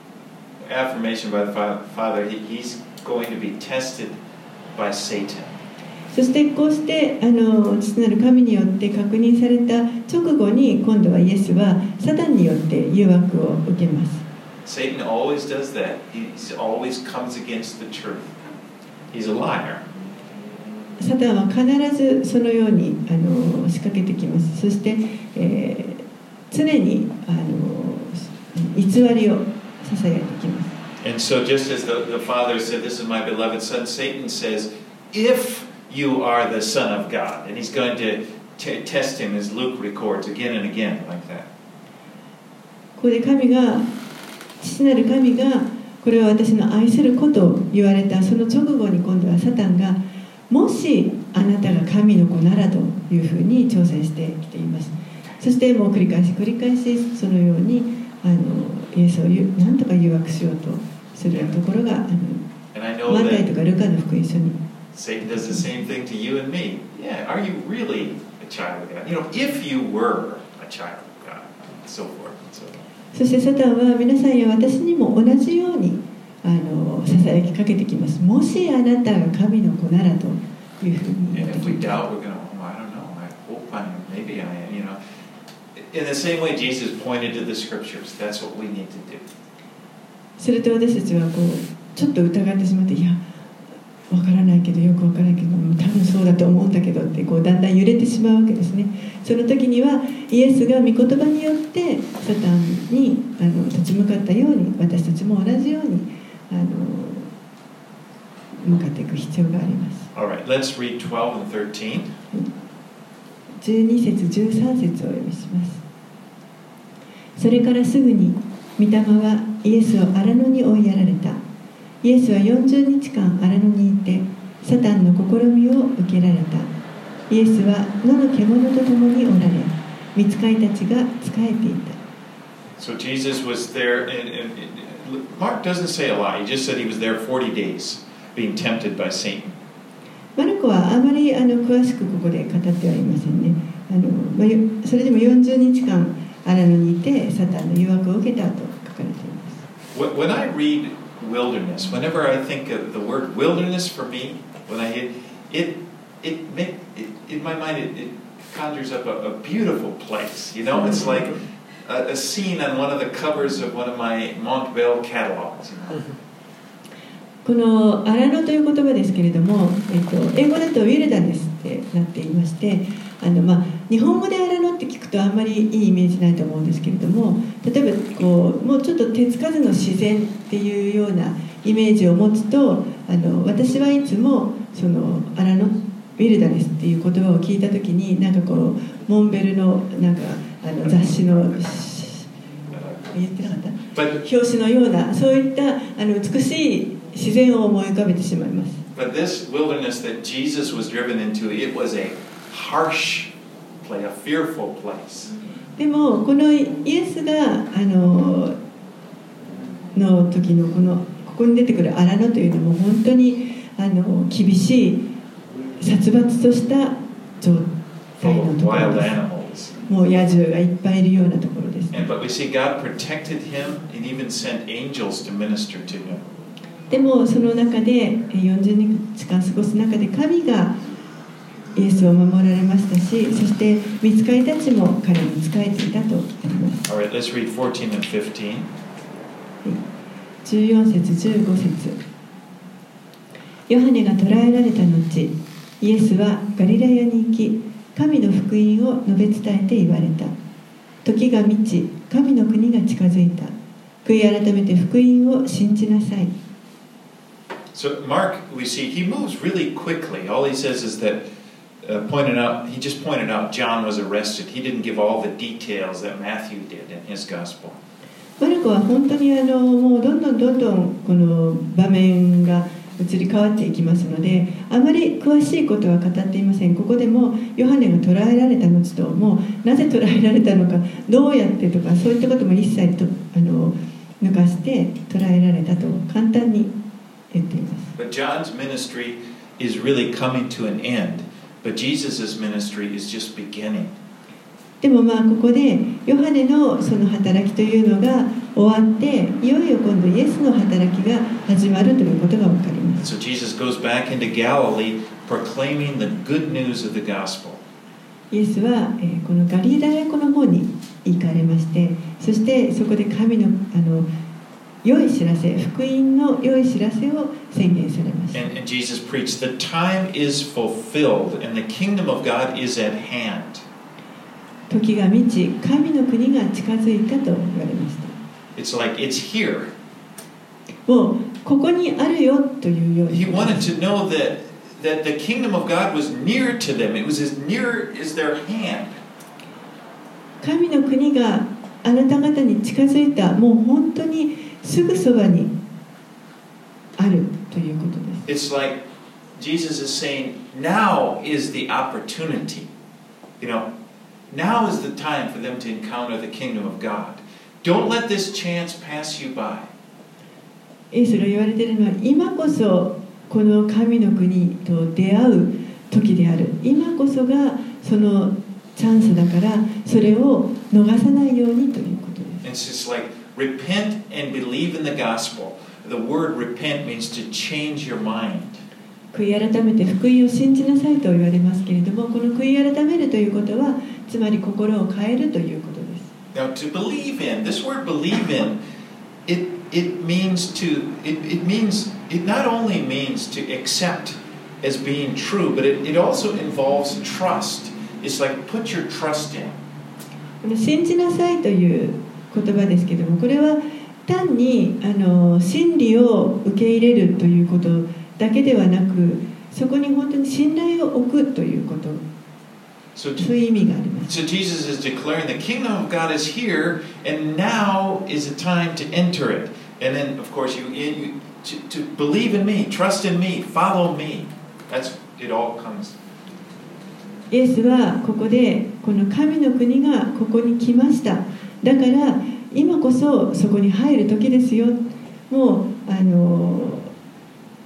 affirmation by the Father, he, he's going to be tested by Satan.
そしてこうしてあの父なる神によって確認された直後に、今度はイエスはサタンによって誘惑を受けます。
Satan always does that. He always comes against the truth. He's a liar.
サタンは必ずそのようにあの仕掛けてきます。そして、えー、常にあの偽りをささやいてきます。
And so just as the, the Father said, "This is my beloved Son," Satan says, "If you are the Son of God," and he's going to t- test him, as Luke records again and again like that.
ここで神が父なる神がこれは私の愛する子と言われたその直後に、今度はサタンがもしあなたが神の子ならというふうに挑戦してきています。そしてもう繰り返し繰り返しそのようにあのイエスを何とか誘惑しようとするところがあのマタイとかルカの福音書に。
Satan does the same thing to you and me. Yeah, are you really a child of God? You know, if you were a child of God, and so forth and so on.
そしてサタンは皆さんや私にも同じようにあのささやきかけてきます。もしあなたが神の子ならというふうに言ってきます。And if we doubt, we're going to, oh, I don't know, I hope I am, maybe I am, you know. In the same way Jesus pointed to the scriptures, that's what we need to do. すると私たちはこうちょっと疑ってしまって、いや、わからないけど、よくわからないけど、多分そうだと思うんだけどってこうだんだん揺れてしまうわけですね。その時にはイエスが御言葉によってサタンにあの立ち向かったように、私たちも同じようにあの向かっていく必要があります。
All right, let's read twelve and thirteen.
じゅうに節じゅうさん節をお読みします。それからすぐに御霊はイエスを荒野に追いやられた。イエスはよんじゅうにちかん荒野にいてサタンの試みを受けられた。イエスは野の獣と共におられ、御使いたちが仕えていた。
So Jesus was there, and, and, and Mark doesn't say a lot. He just said he was there forty days, being tempted by Satan.
マルコはあまりあの詳しくここで語ってはいませんね。あの、まあ、それでもよんじゅうにちかんアラノにいてサタンの誘惑を受けたと書かれています。
When I read wilderness, whenever I think of the word wilderness for me, when I hear it, it make it, in my mind it, it conjures up a, a beautiful place. You know, it's like a, a scene on one of the covers of one of my Montbell catalogs. You know?
このアラノという言葉ですけれども、えっと、英語だとウィルダネスってなっていまして、あの、まあ、日本語でアラノって聞くとあんまりいいイメージないと思うんですけれども、例えばこうもうちょっと手つかずの自然っていうようなイメージを持つと、あの私はいつもそのアラノウィルダネスっていう言葉を聞いた時に、なんかこうモンベルのなんかあの雑誌の言ってなかった、表紙のようなそういったあの美しい自然を思い浮かべてしまいます。
But this wilderness that Jesus was driven into, it was a harsh place, a fearful place.
でもこのイエスがあのの時のこのここに出てくるアラノというのも本当にあの厳しい殺伐とした状態のところです。もう野獣がいっぱいいるようなところです。
And but we see God protected him and even sent angels to minister to him.
でもその中でよんじゅうにちかん過ごす中で神がイエスを守られましたし、そして御使いたちも彼に仕えていたとあります。
All right, let's read fourteen and fifteen.
じゅうよん節じゅうご節。ヨハネが捕らえられた後、イエスはガリラヤに行き、神の福音を述べ伝えて言われた。時が満ち、神の国が近づいた。悔い改めて福音を信じなさい。
So Mark, we see he moves really quickly. All he says is that uh, pointed out. He just pointed out John was arrested. He didn't give all the details that Matthew did in his gospel.
マルコは本当にあのもうどんどんどんどんこの場面が移り変わっていきますので、あまり詳しいことは語っていません。ここでもヨハネが捕らえられた後と、もうなぜ捕らえられたのか、どうやってとか、そういったことも一切とあの抜かして捕らえられたと簡単に言っています。
But John's ministry is really coming to an end, but Jesus' ministry is just beginning.
でもまあここでヨハネのその働きというのが終わって、いよいよ今度イエスの働きが始まるということが分かります。
So Jesus goes back into Galilee, proclaiming the good news of the gospel.
イエスは、えー、このガリラヤ湖の方に行かれまして、そしてそこで神のあの良い知らせ、福音の良い知らせを宣言されました。
And, and Jesus preached, "The time is fulfilled, and the kingdom of God is at hand."
時が満ち、神の国が近づいたと言われました。
It's like it's here.
もうここにあるよというように。
He wanted to know that that the kingdom of God was near to them. It was as near as their hand.
神の国があなた方に近づいた、もう本当にすぐそばにあるということです。
It's like Jesus is saying, now is the opportunity. You know, now is the time for them to encounter the kingdom of God. Don't let this chance pass you by.
イエスが言われているのは、今こそこの神の国と出会う時である。今こそがそのチャンスだから、それを逃さないようにということです。
It's just like repent and believe in the gospel. The word repent means to change your mind.
悔い改めて福音を信じなさいと言われますけれども、この悔い改めるということは、つまり心を変えるということです。
Now, to believe in, this word believe in, it it means to it it means it not only means to accept as being true, but it, it also involves trust. It's like put your trust in.
この信じなさいという言葉ですけれども、これは単にあの真理を受け入れるということだけではなく、そこに本当に信頼を置くということ、
So,
そういう意味があります。
so Jesus is declaring the kingdom of God is here, and now is the time to enter it. And then, of course, you, you to, to believe in me, trust in me, follow me. That's it. All comes.
イエスはここでこの神の国がここに来ました。だから今こそそこに入る時ですよ。もうあの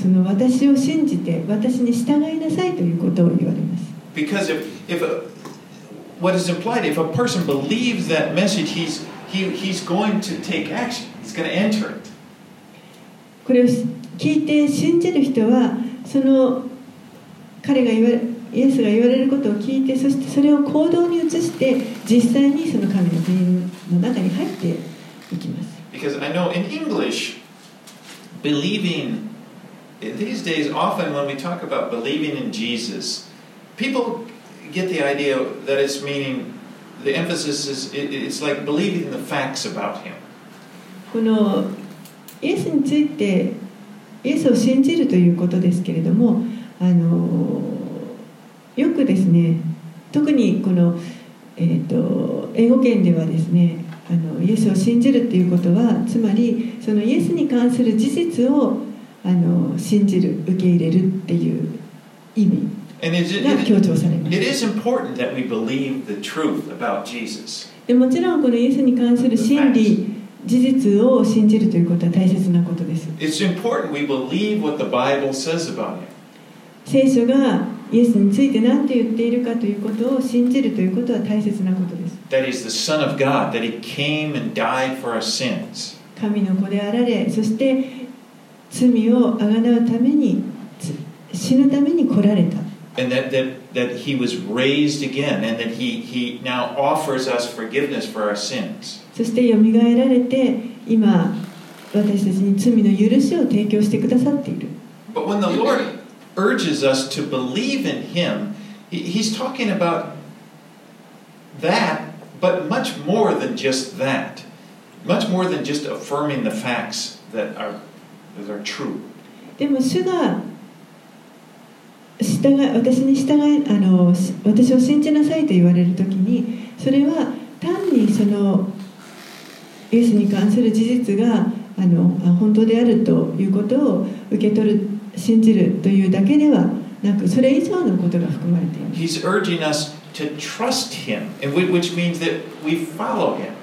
その私を信じて私に従いなさいということを言われます。
Because if, if a, what is implied, if a person believes that message, he's, he, he's going to take action. He's going to enter it.
これを聞いて信じる人は、その彼が言われ、イエスが言われることを聞いて、そしてそれを行動に移して実際にその神の国の中に入っていきます。
Because I know in English, believing, these days often when we talk about believing in Jesus, people get the idea that it's meaning, the emphasis is, it, it's like believing the facts about him.
このイエスについて、イエスを信じるということですけれども、あのよくですね、特にこの、えーと、英語圏ではですね、あのイエスを信じるということは、つまりそのイエスに関する事実をあの信じる、受け入れるっていう意味が強調されます。
It is important that we believe the truth about Jesus.
でもちろんこのイエスに関する真理、事実を信じるということは大切なことです。
It's important we believe what the Bible says about him.
聖書がイエスについて何て言っているかということを信じるということは大切なことです。
That he's the Son of God, that he came and died for our sins.
神の子であられ、そして罪をあがなうために、死ぬために来られた。
And that, that, that he was raised again, and that he, he now offers us forgiveness for our sins.
そしてよみがえられて、今私たちに罪の許しを提供してくださっている。
But when the Lord urges us to believe in him, he, he's talking about that, but much more than just that. Much more than just affirming the facts that are, that are true.
でも主が従い、私に従い、あの、私を信じなさいと言われるときに、それは単にそのイエスに関する事実があの本当であるということを受け取る、信じるというだけではなく、それ以上のことが含まれています。
He's urging us to trust him, which means that we follow him.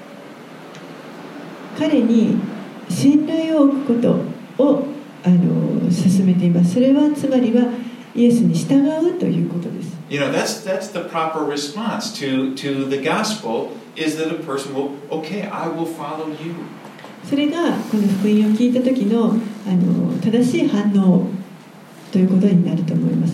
彼に信頼を置くことをあの進めています。それはつまりはイエスに従うということです。
You know, that's that's the proper response to to the gospel is that a person will, okay, I will follow you.
それがこの福音を聞いた時のあの正しい反応ということになると思います。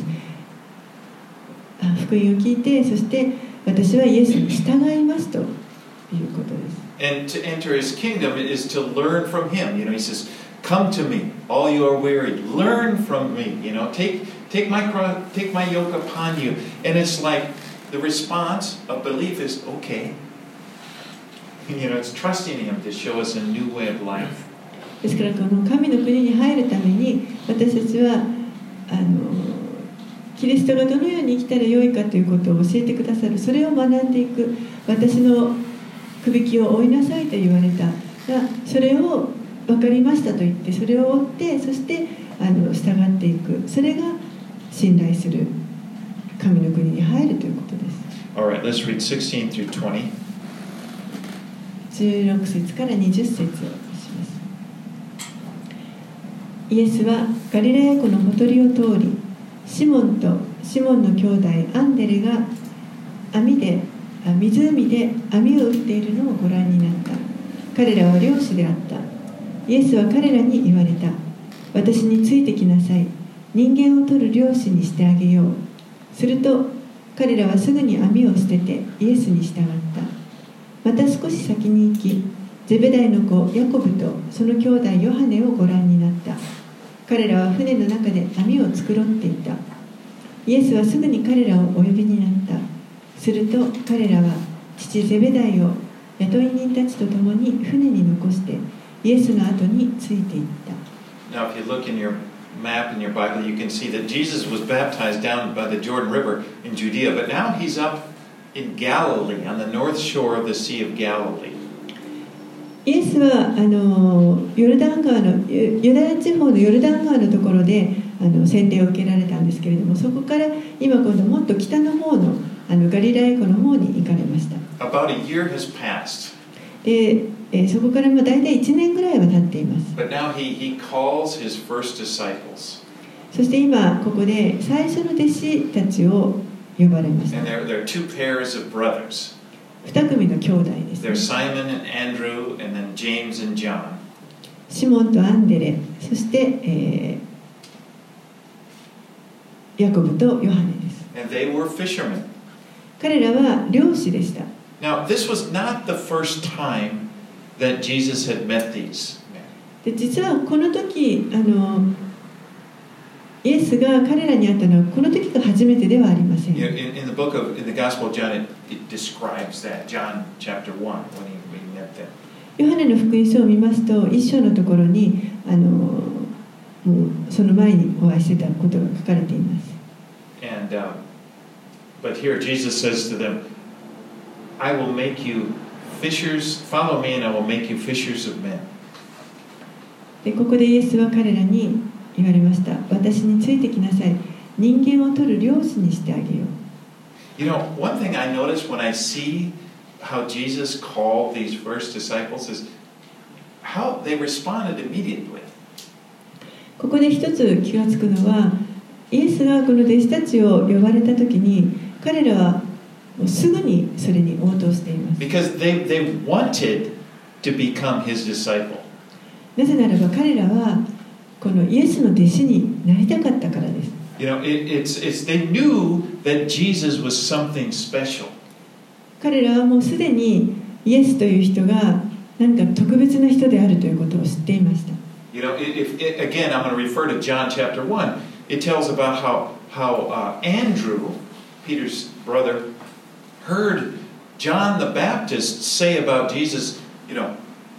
福音を聞いて、そして私はイエスに従いますということです。
And to enter his kingdom is to learn from him. You know, he says, "Come to me, all you are weary. Learn from me. You know, take take my cross, take my yoke upon you." And it's like the response of belief is okay. You know, it's trusting him to show us a new way of life.
ですからこの神の国に入るために私たちはあのキリストがどのように生きたらよいかということを教えてくださる。それを学んでいく。私のくびきを追いなさいと言われたが、それを分かりましたと言ってそれを追って、そしてあの従っていく。それが信頼する神の国に入るということです。
All right, let's read sixteen through twenty.
じゅうろく節からにじゅっ節をします。イエスはガリラヤ湖のほとりを通り、シモンとシモンの兄弟アンデレが網で湖で網を打っているのをご覧になった。彼らは漁師であった。イエスは彼らに言われた。私についてきなさい。人間を取る漁師にしてあげよう。すると彼らはすぐに網を捨ててイエスに従った。また少し先に行き、ゼベダイの子ヤコブとその兄弟ヨハネをご覧になった。彼らは船の中で網を繕っていた。イエスはすぐに彼らをお呼びになった。すると彼らは父ゼベダイを雇い人たちと共に船に残してイエスの後についていった。
Now, if you look in your map in your Bible, you can see that Jesus was baptized down by the Jordan River in Judea, but now he's up in Galilee, on the north shore of the Sea of Galilee.
イエスはあのヨルダン川のユダヤ地方のヨルダン川のところであの洗礼を受けられたんですけれども、そこから今今度もっと北の方のあのガリラヤ湖の方に行かれました。
About a year has passed.
で、えー、そこからもう大体いちねんぐらいは経っています。
But now he, he calls his first disciples.
そして今ここで最初の弟子たちを呼ばれました。
And there, there are two pairs of brothers.
二組の兄弟です、ね。
There's Simon and Andrew, and then James and John.
シモンとアンデレ、そして、えー、ヤコブとヨハネです。
And they were fishermen.
彼らは漁師でした。
Now, this was not the first time that Jesus had met these men.
で実はこの時あのイエスが彼らに会ったのはこの時が初めてではありません。
You know, in, in the book of, in the Gospel of John, it, it describes that. John chapter one, when he, when he met them.
ヨハネの福音書を見ますと、一章のところにあのもうその前にお会いしてたことが書かれています。
And, uh, but here Jesus says to them, I will make you fishers, follow me and I will make you fishers of men.
でここでイエスは彼らに言われました。私についてきなさい。人間を取る漁師にしてあげよう。
You know, one thing I notice when I see how Jesus called these first disciples is how they responded immediately.
ここで一つ気がつくのは、イエスがこの弟子たちを呼ばれたときに、彼らはもうすぐにそれに応答しています。
Because they, they wanted to become his disciple.
なぜならば彼らはこのイエスの弟子になりたかったからです。
You know, it, it's, it's, they knew that Jesus was something special.
彼らはもうすでにイエスという人が何か特別な人であるということを知っていました。
You know, if, if, again, I'm going to refer to John chapter one. It tells about how, how uh, Andrew, Peter's brother, heard John the Baptist say about Jesus, you know,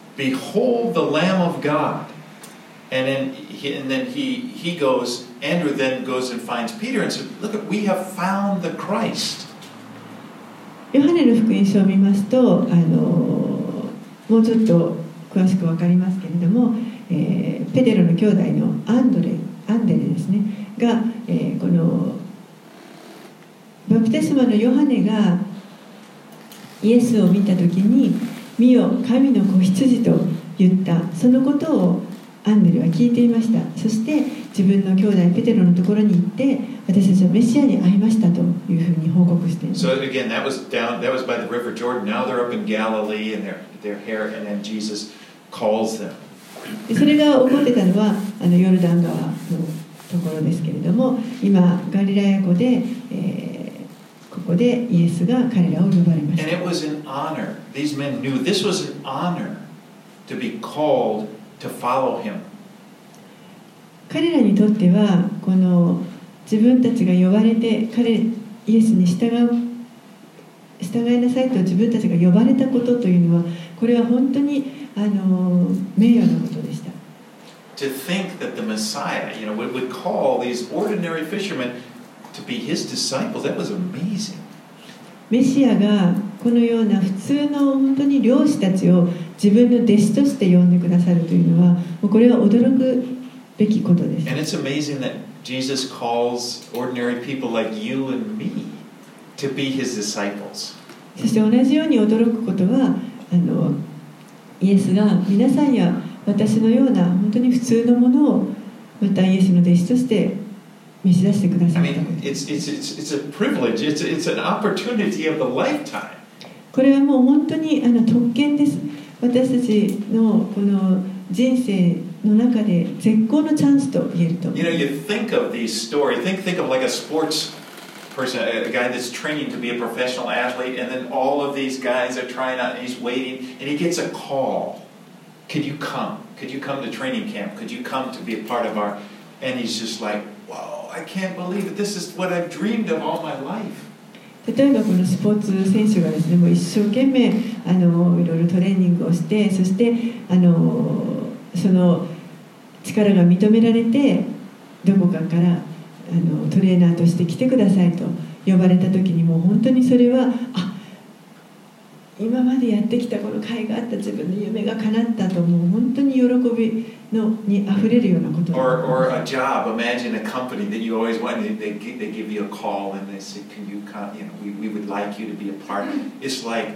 behold the Lamb of God. And then he, and then he, he goes, Andrew then goes and finds Peter and says, look, we have found the Christ.
ヨハネの福音書を見ますと、あのもうちょっと詳しく分かりますけれども、えー、ペテロの兄弟のアンドレ、アンデレですね、が、えー、このバプテスマのヨハネがイエスを見たときに、見よ、神の子羊と言った、そのことをアンデレは聞いていました。そして自分の兄弟ペテロのところに行って、私たちはメシアに会いましたというふうに報告しています。
So again, that was down, that was by the River Jordan. Now they're up in Galilee and they're, they're here, and then Jesus calls them.
それが起こってたのはあのヨルダン川のところですけれども、今ガリラヤ湖で、えー、ここでイエスが彼らを呼ばれました。
And it was an honor. These men knew this was an honor to be called to follow him.
彼らにとってはこの自分たちが呼ばれて彼イエスに従う従いなさいと自分たちが呼ばれたことというのは、これは本当にあの名誉なことでした。
To think that the Messiah, you know, would, would call these ordinary fishermen to be his disciples, that was amazing.
メシアがこのような普通の本当に漁師たちを自分の弟子として呼んでくださるというのは、もうこれは驚くべきことです。
And it's amazing that Jesus calls ordinary people like you and me to be his disciples.
そして同じように驚くことは、あのイエスが皆さんや私のような本当に普通のものをまたイエスの弟子として召し出してくださ
I
ったこと。
mean, it's, it's, it's, it's a privilege, it's, it's an opportunity of a lifetime.
これはもう本当にあの特権です。私たちのこの人生の中で絶好のチャンスと言えると思います。
You know, you think of these stories, think, think of like a sports person, a guy that's training to be a professional athlete, and then all of these guys are trying out, and he's waiting, and he gets a call. Could you come? Could you come to training camp? Could you come to be a part of our... And he's just like, whoa, I can't believe it. This is what I've dreamed of all my life.
例えばこのスポーツ選手がですね、もう一生懸命あのいろいろトレーニングをして、そしてあのその力が認められてどこかからあのトレーナーとして来てくださいと呼ばれた時に、もう本当にそれはあ今までやってきたこの甲斐があった自分の夢が叶ったと、もう本当に喜びのにあふれるようなこと。
Or, or a job. Imagine a company that you always wanted. They, they give you a call and they say, "Can you come? You know, we, we would like you to be a part." It's like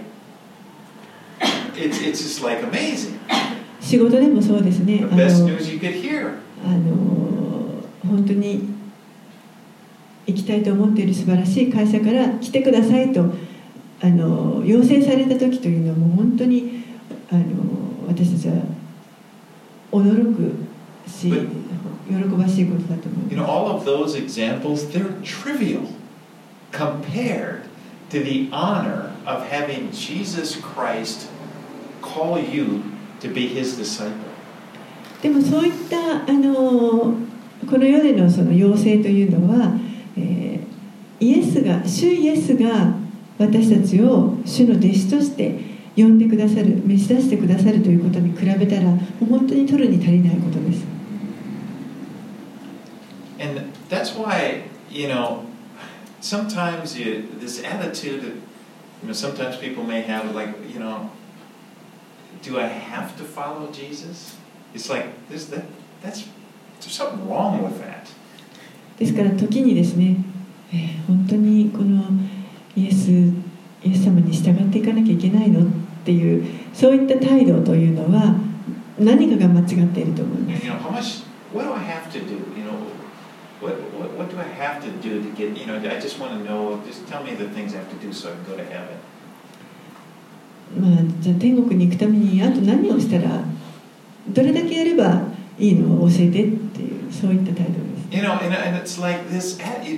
it's it's just like amazing.
仕事でもそうですね。
The best news you could hear.
あの本当に行きたいと思っている素晴らしい会社から来てくださいとあの要請された時というのはもう本当にあの私たちは驚くし喜ばしいことだと思います。
You know, all of those examples, they're trivial compared to the honor of having Jesus Christ call you to be His disciple.
でもそういったあのこの世でのその要請というのは、えー、イエスが主イエスが私たちを主の弟子として呼んでくださる、召し出してくださるということに比べたらもう本当に取るに足りないことです。
And that's why, you know, sometimes you, this attitude, you know, sometimes people may have like, you know, do I have to follow Jesus? It's like, there's that, that's, there's something wrong with that.
ですから時にですね、えー、本当にこのイエス、イエス様に従っていかなきゃいけないのっていうそういった態度というのは何かが間違っていると思います。
You know, how much, what do I have to do? You know, what, what, what do I have to do to get, you know, I just want to know, just tell me the things I have to do so I can go to heaven.
まあ、じゃあ天国に行くためにあと何をしたらどれだけやればいいのを教えてっていうそういった態度です。
You know, and, and it's like this,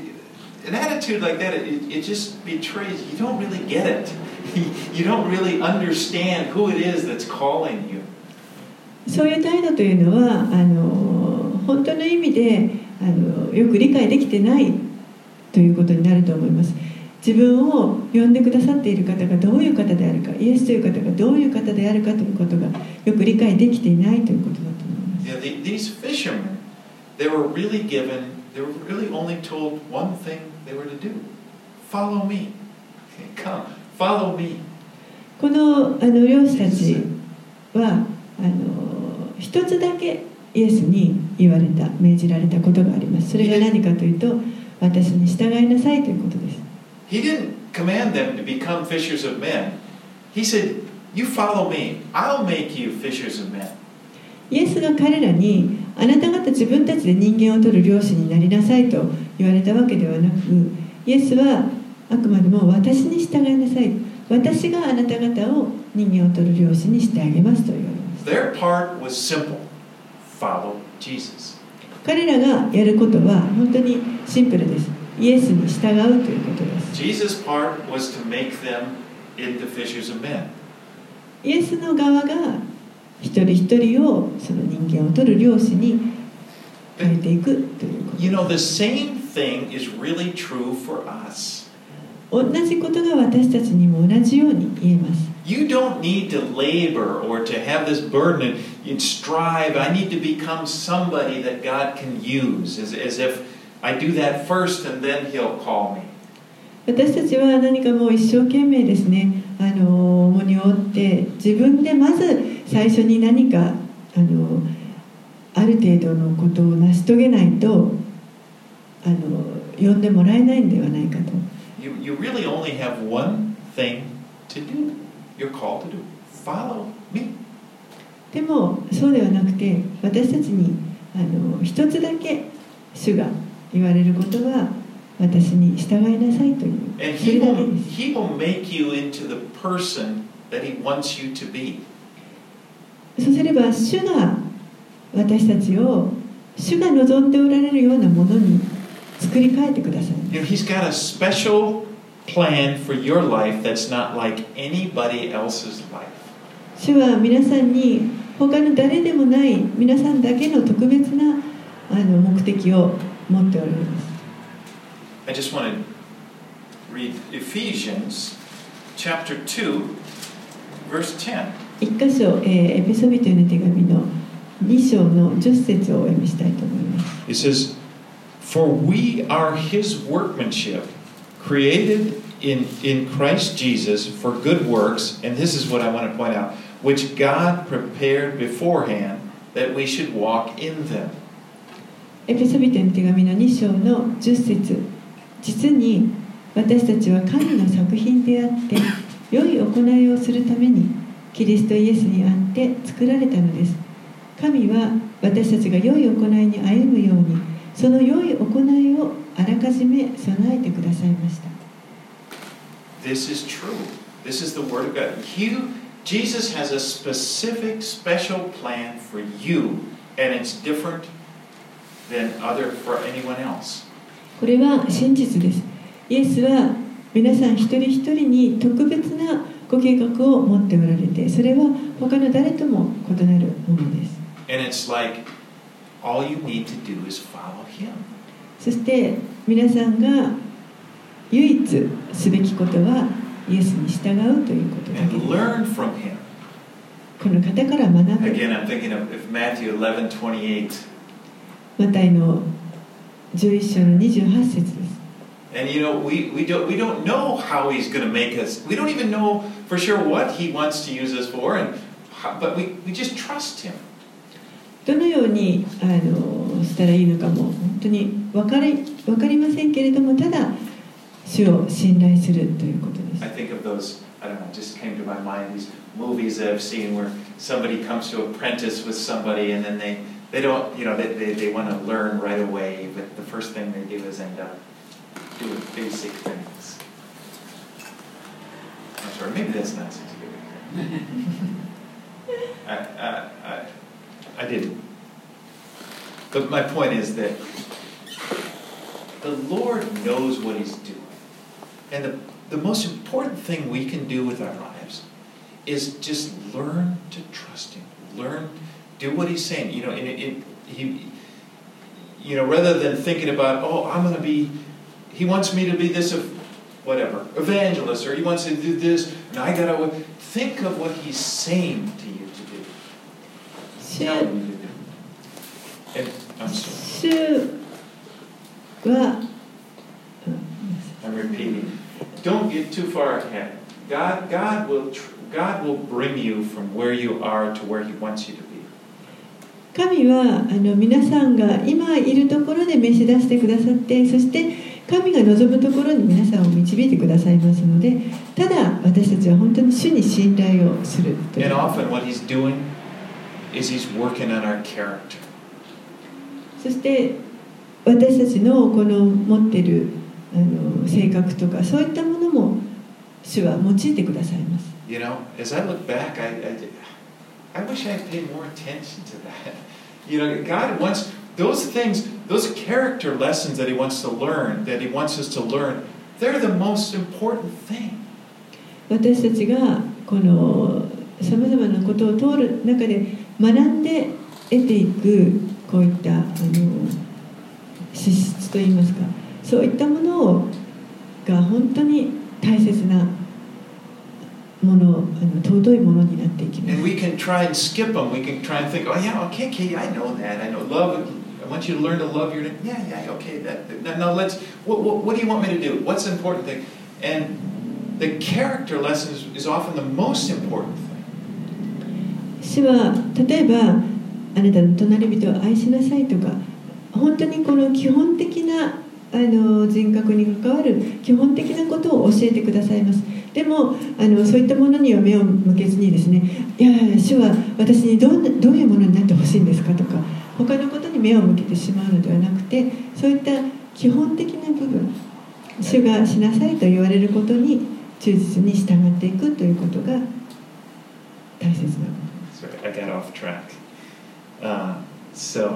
an attitude like that, it, it just betrays, you don't really get it. You don't really understand who it is that's calling you.
そういう態度というのはあの本当の意味であのよく理解できてないということになると思います。自分を呼んでくださっている方がどういう方であるか、イエスという方がどういう方であるかということがよく理解できていないということだと思います。
Yeah, the, these fishermen, they were really given, they were really only told one thing they were to do. Follow me. Come, follow me.
このあの漁師たちはあの一つだけイエスに言われた、命じられたことがあります。それが何かというと、私に従いなさいということです。
He didn't command them to become fishers of men. He said, you follow me. I'll make you fishers of men.
イエスが彼らにあなた方自分たちで人間を取る漁師になりなさいと言われたわけではなく、イエスはあくまでも私に従いなさい。私があなた方を人間を取る漁師にしてあげますと言われます。
Their part was simple. Follow Jesus.
彼らがやることは本当にシンプルです。イエスに従うということです。
Jesus' part was to make them into fishers of men.
イエスの側が一人一人をその人間を取る漁師に変えていくということです。
You know, the same thing is really true for us.
同じことが私たちにも同じように言えます。
You don't need to labor or to have this burden and strive. I need to become somebody that God can use, as, as if I do that first and then He'll call me.
私たちは何かもう一生懸命ですね、あの重荷を負って自分でまず最初に何かあのある程度のことを成し遂げないとあの呼んでもらえないんではないかと。
You, you really only have one thing to do. You're called to do. Follow me.
でもそうではなくて私たちにあの一つだけ主が言われることは私に従いなさいという。
And he will, he will make you into the person that He wants you to be.
そうすれば主が私たちを主が望んでおられるようなものに作り変えてください。
You know, He's got a special plan for your life that's not like anybody else's life.
主は皆さんに他の誰でもない皆さんだけの特別なあの目的を持っておられます。
I just want to read Ephesians chapter two, verse ten.
一箇所、えー、エペソビトへの手紙のに章のじゅっ節をお読みしたいと思います。
It says, For we are His workmanship, created in, in Christ Jesus for good works, and this is what I want to point out, which God prepared beforehand that we should walk in them.
エペソビトへの手紙のに章のじゅっ節、実に私たちは神の作品であって良い行いをするためにキリストイエスにあって作られたのです。神は私たちが良い行いに歩むようにその良い行いをあらかじめ備えてくださいました。
This is true. This is the Word of God. You, Jesus has a specific, special plan for you, and it's different than other for anyone else.
これは真実です。イエスは皆さん一人一人に特別なご計画を持っておられて、それは他の誰とも異なるものです。
And it's like all you need to do is follow Him.
そして皆さんが唯一すべきことはイエスに従うということだけです。
And learn from Him.
この方から学ぶ。
Again, I'm thinking of Matthew eleven twenty-eight.
マタイのじゅういっ章のにじゅうはち節です。
And you know, we, we, don't, we don't know how He's going to make us. We don't even know for sure what He wants to use us for, and how, but we, we just trust Him.
どのようにあのしたらいいのかも本当に分かり、分かりませんけれども、ただ主を信頼するということです。
I think of those, I don't know, just came to my mind, these movies that I've seen where somebody comes to apprentice with somebody and then they, they don't, you know, they, they, they want to learn right away, but the first thing they do is end up doing basic things. I'm sorry, maybe that's not such a good example. I, I, I, I didn't. But my point is that the Lord knows what He's doing. And the, the most important thing we can do with our lives is just learn to trust Him. Learn, do what He's saying. You know, it, it, he, you know, rather than thinking about, oh, I'm going to be, He wants me to be this, whatever, evangelist, or He wants to do this, and I got to think of what He's saying to you to do. Tell you to do. And I'm sorry. I'm repeating. Don't get too far ahead. God, God will, God will bring you from where you are to where He wants you to be.
神はあの皆さんが今いるところで召し出してくださって、そして神が望むところに皆さんを導いてくださいますので、ただ私たちは本当に主に信頼をするという。
And often what He's doing is He's working on our character.
そして私たちのこの持っているあの性格とかそういったものも主は用いてくださいます。
You know, as I look back, I, I, I wish I had paid more attention to that. You know, God wants those things, those character lessons that He wants to learn, that He wants us to learn, they're the most important thing. 私たちがこのさまざまなことを通る中で学んで得ていくこういったあの資質といいますか、そういったものが本当に大切なもの、あの尊いものになっていきます。And we can try and skip them. We can try and think, oh yeah, okay, okay, I know that. I know love. I want you to learn to love your. Yeah, yeah, okay. That. Now, now let's. What, what, what do you want me to do? What's the important thing? And the character lesson is, is often the most important thing.
主は例えばあなたの隣人を愛しなさいとか、本当にこの基本的なあの人格に関わる基本的なことを教えてくださいます。でもあのそういったものには目を向けずにですね、いやいや主は私にどんなどういうものになってほしいんですかとか、他のことに目を向けてしまうのではなくて、そういった基本的な部分、主がしなさいと言われることに忠実に従っていくということが大切なこと。
Sorry, I got off track. Uh, so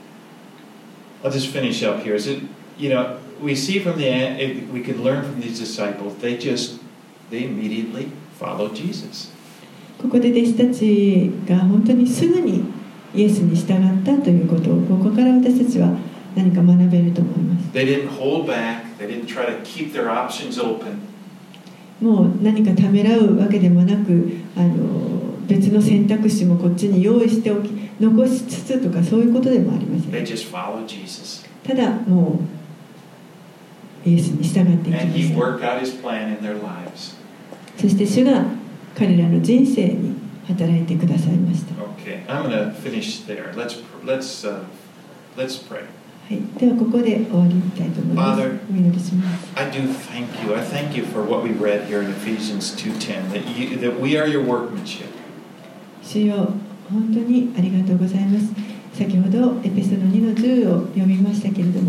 I'll just finish up here. Is it, you know, we see from the, we can learn from these disciples. They just, they immediately followed Jesus.
ここで弟子たちが本当にすぐにイエスに従ったということを、ここから私たちは何か学べると思います。
They didn't hold back. They didn't try to keep their options open.
もう何かためらうわけでもなく、あの別の選択肢もこっちに用意しておき、残しつつとかそういうことでもありません。
They just followed Jesus.
ただもうイエスに従っていきま
And
し
He
た。
worked out His plan in their lives.
そして主が彼らの人生に働いてくださいました。
Okay, I'm going to finish there. Let's let's uh, let's pray.
はい、ではここで終わりたいと思います。
Father,
お祈りします。
I do thank you. I thank you for what we read here in Ephesians two ten, that you, that we are your workmanship.
主よ、本当にありがとうございます。先ほどエペソのにのじゅうを読みましたけれど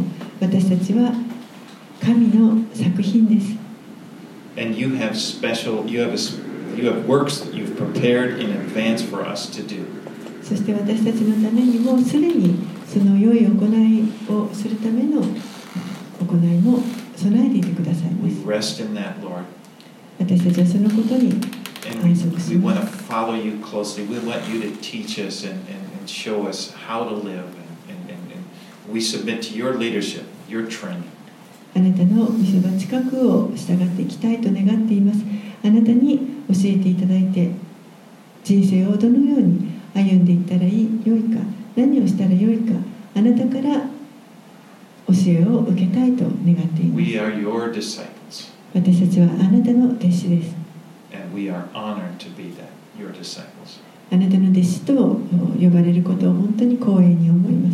ちは神の作品です。
And you have special, you have, a, you have works that you've prepared in advance for us to do.
そして私たちのためにもすでにその良い行いをするための行いも備えていてくださいます。
We rest in that, Lord.
私たちはそのことに安息し
We
ま
want to
す。
follow you closely. We want you to teach us and, and, and show us how to live. And, and, and, and we submit to your leadership, your training.
あなたの御そば近くを従っていきたいと願っています。あなたに教えていただいて、人生をどのように歩んでいったらいい良いか、何をしたら良いか、あなたから教えを受けたいと願っています。
We are your disciples.
私たちはあなたの弟子です。
And we are honored to be that, your disciples.
あなたの弟子と呼ばれることを本当に光栄に思います。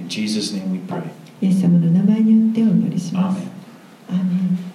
In Jesus' name we pray.
イエス様の名前によってお祈りします。
Amen.
アーメン。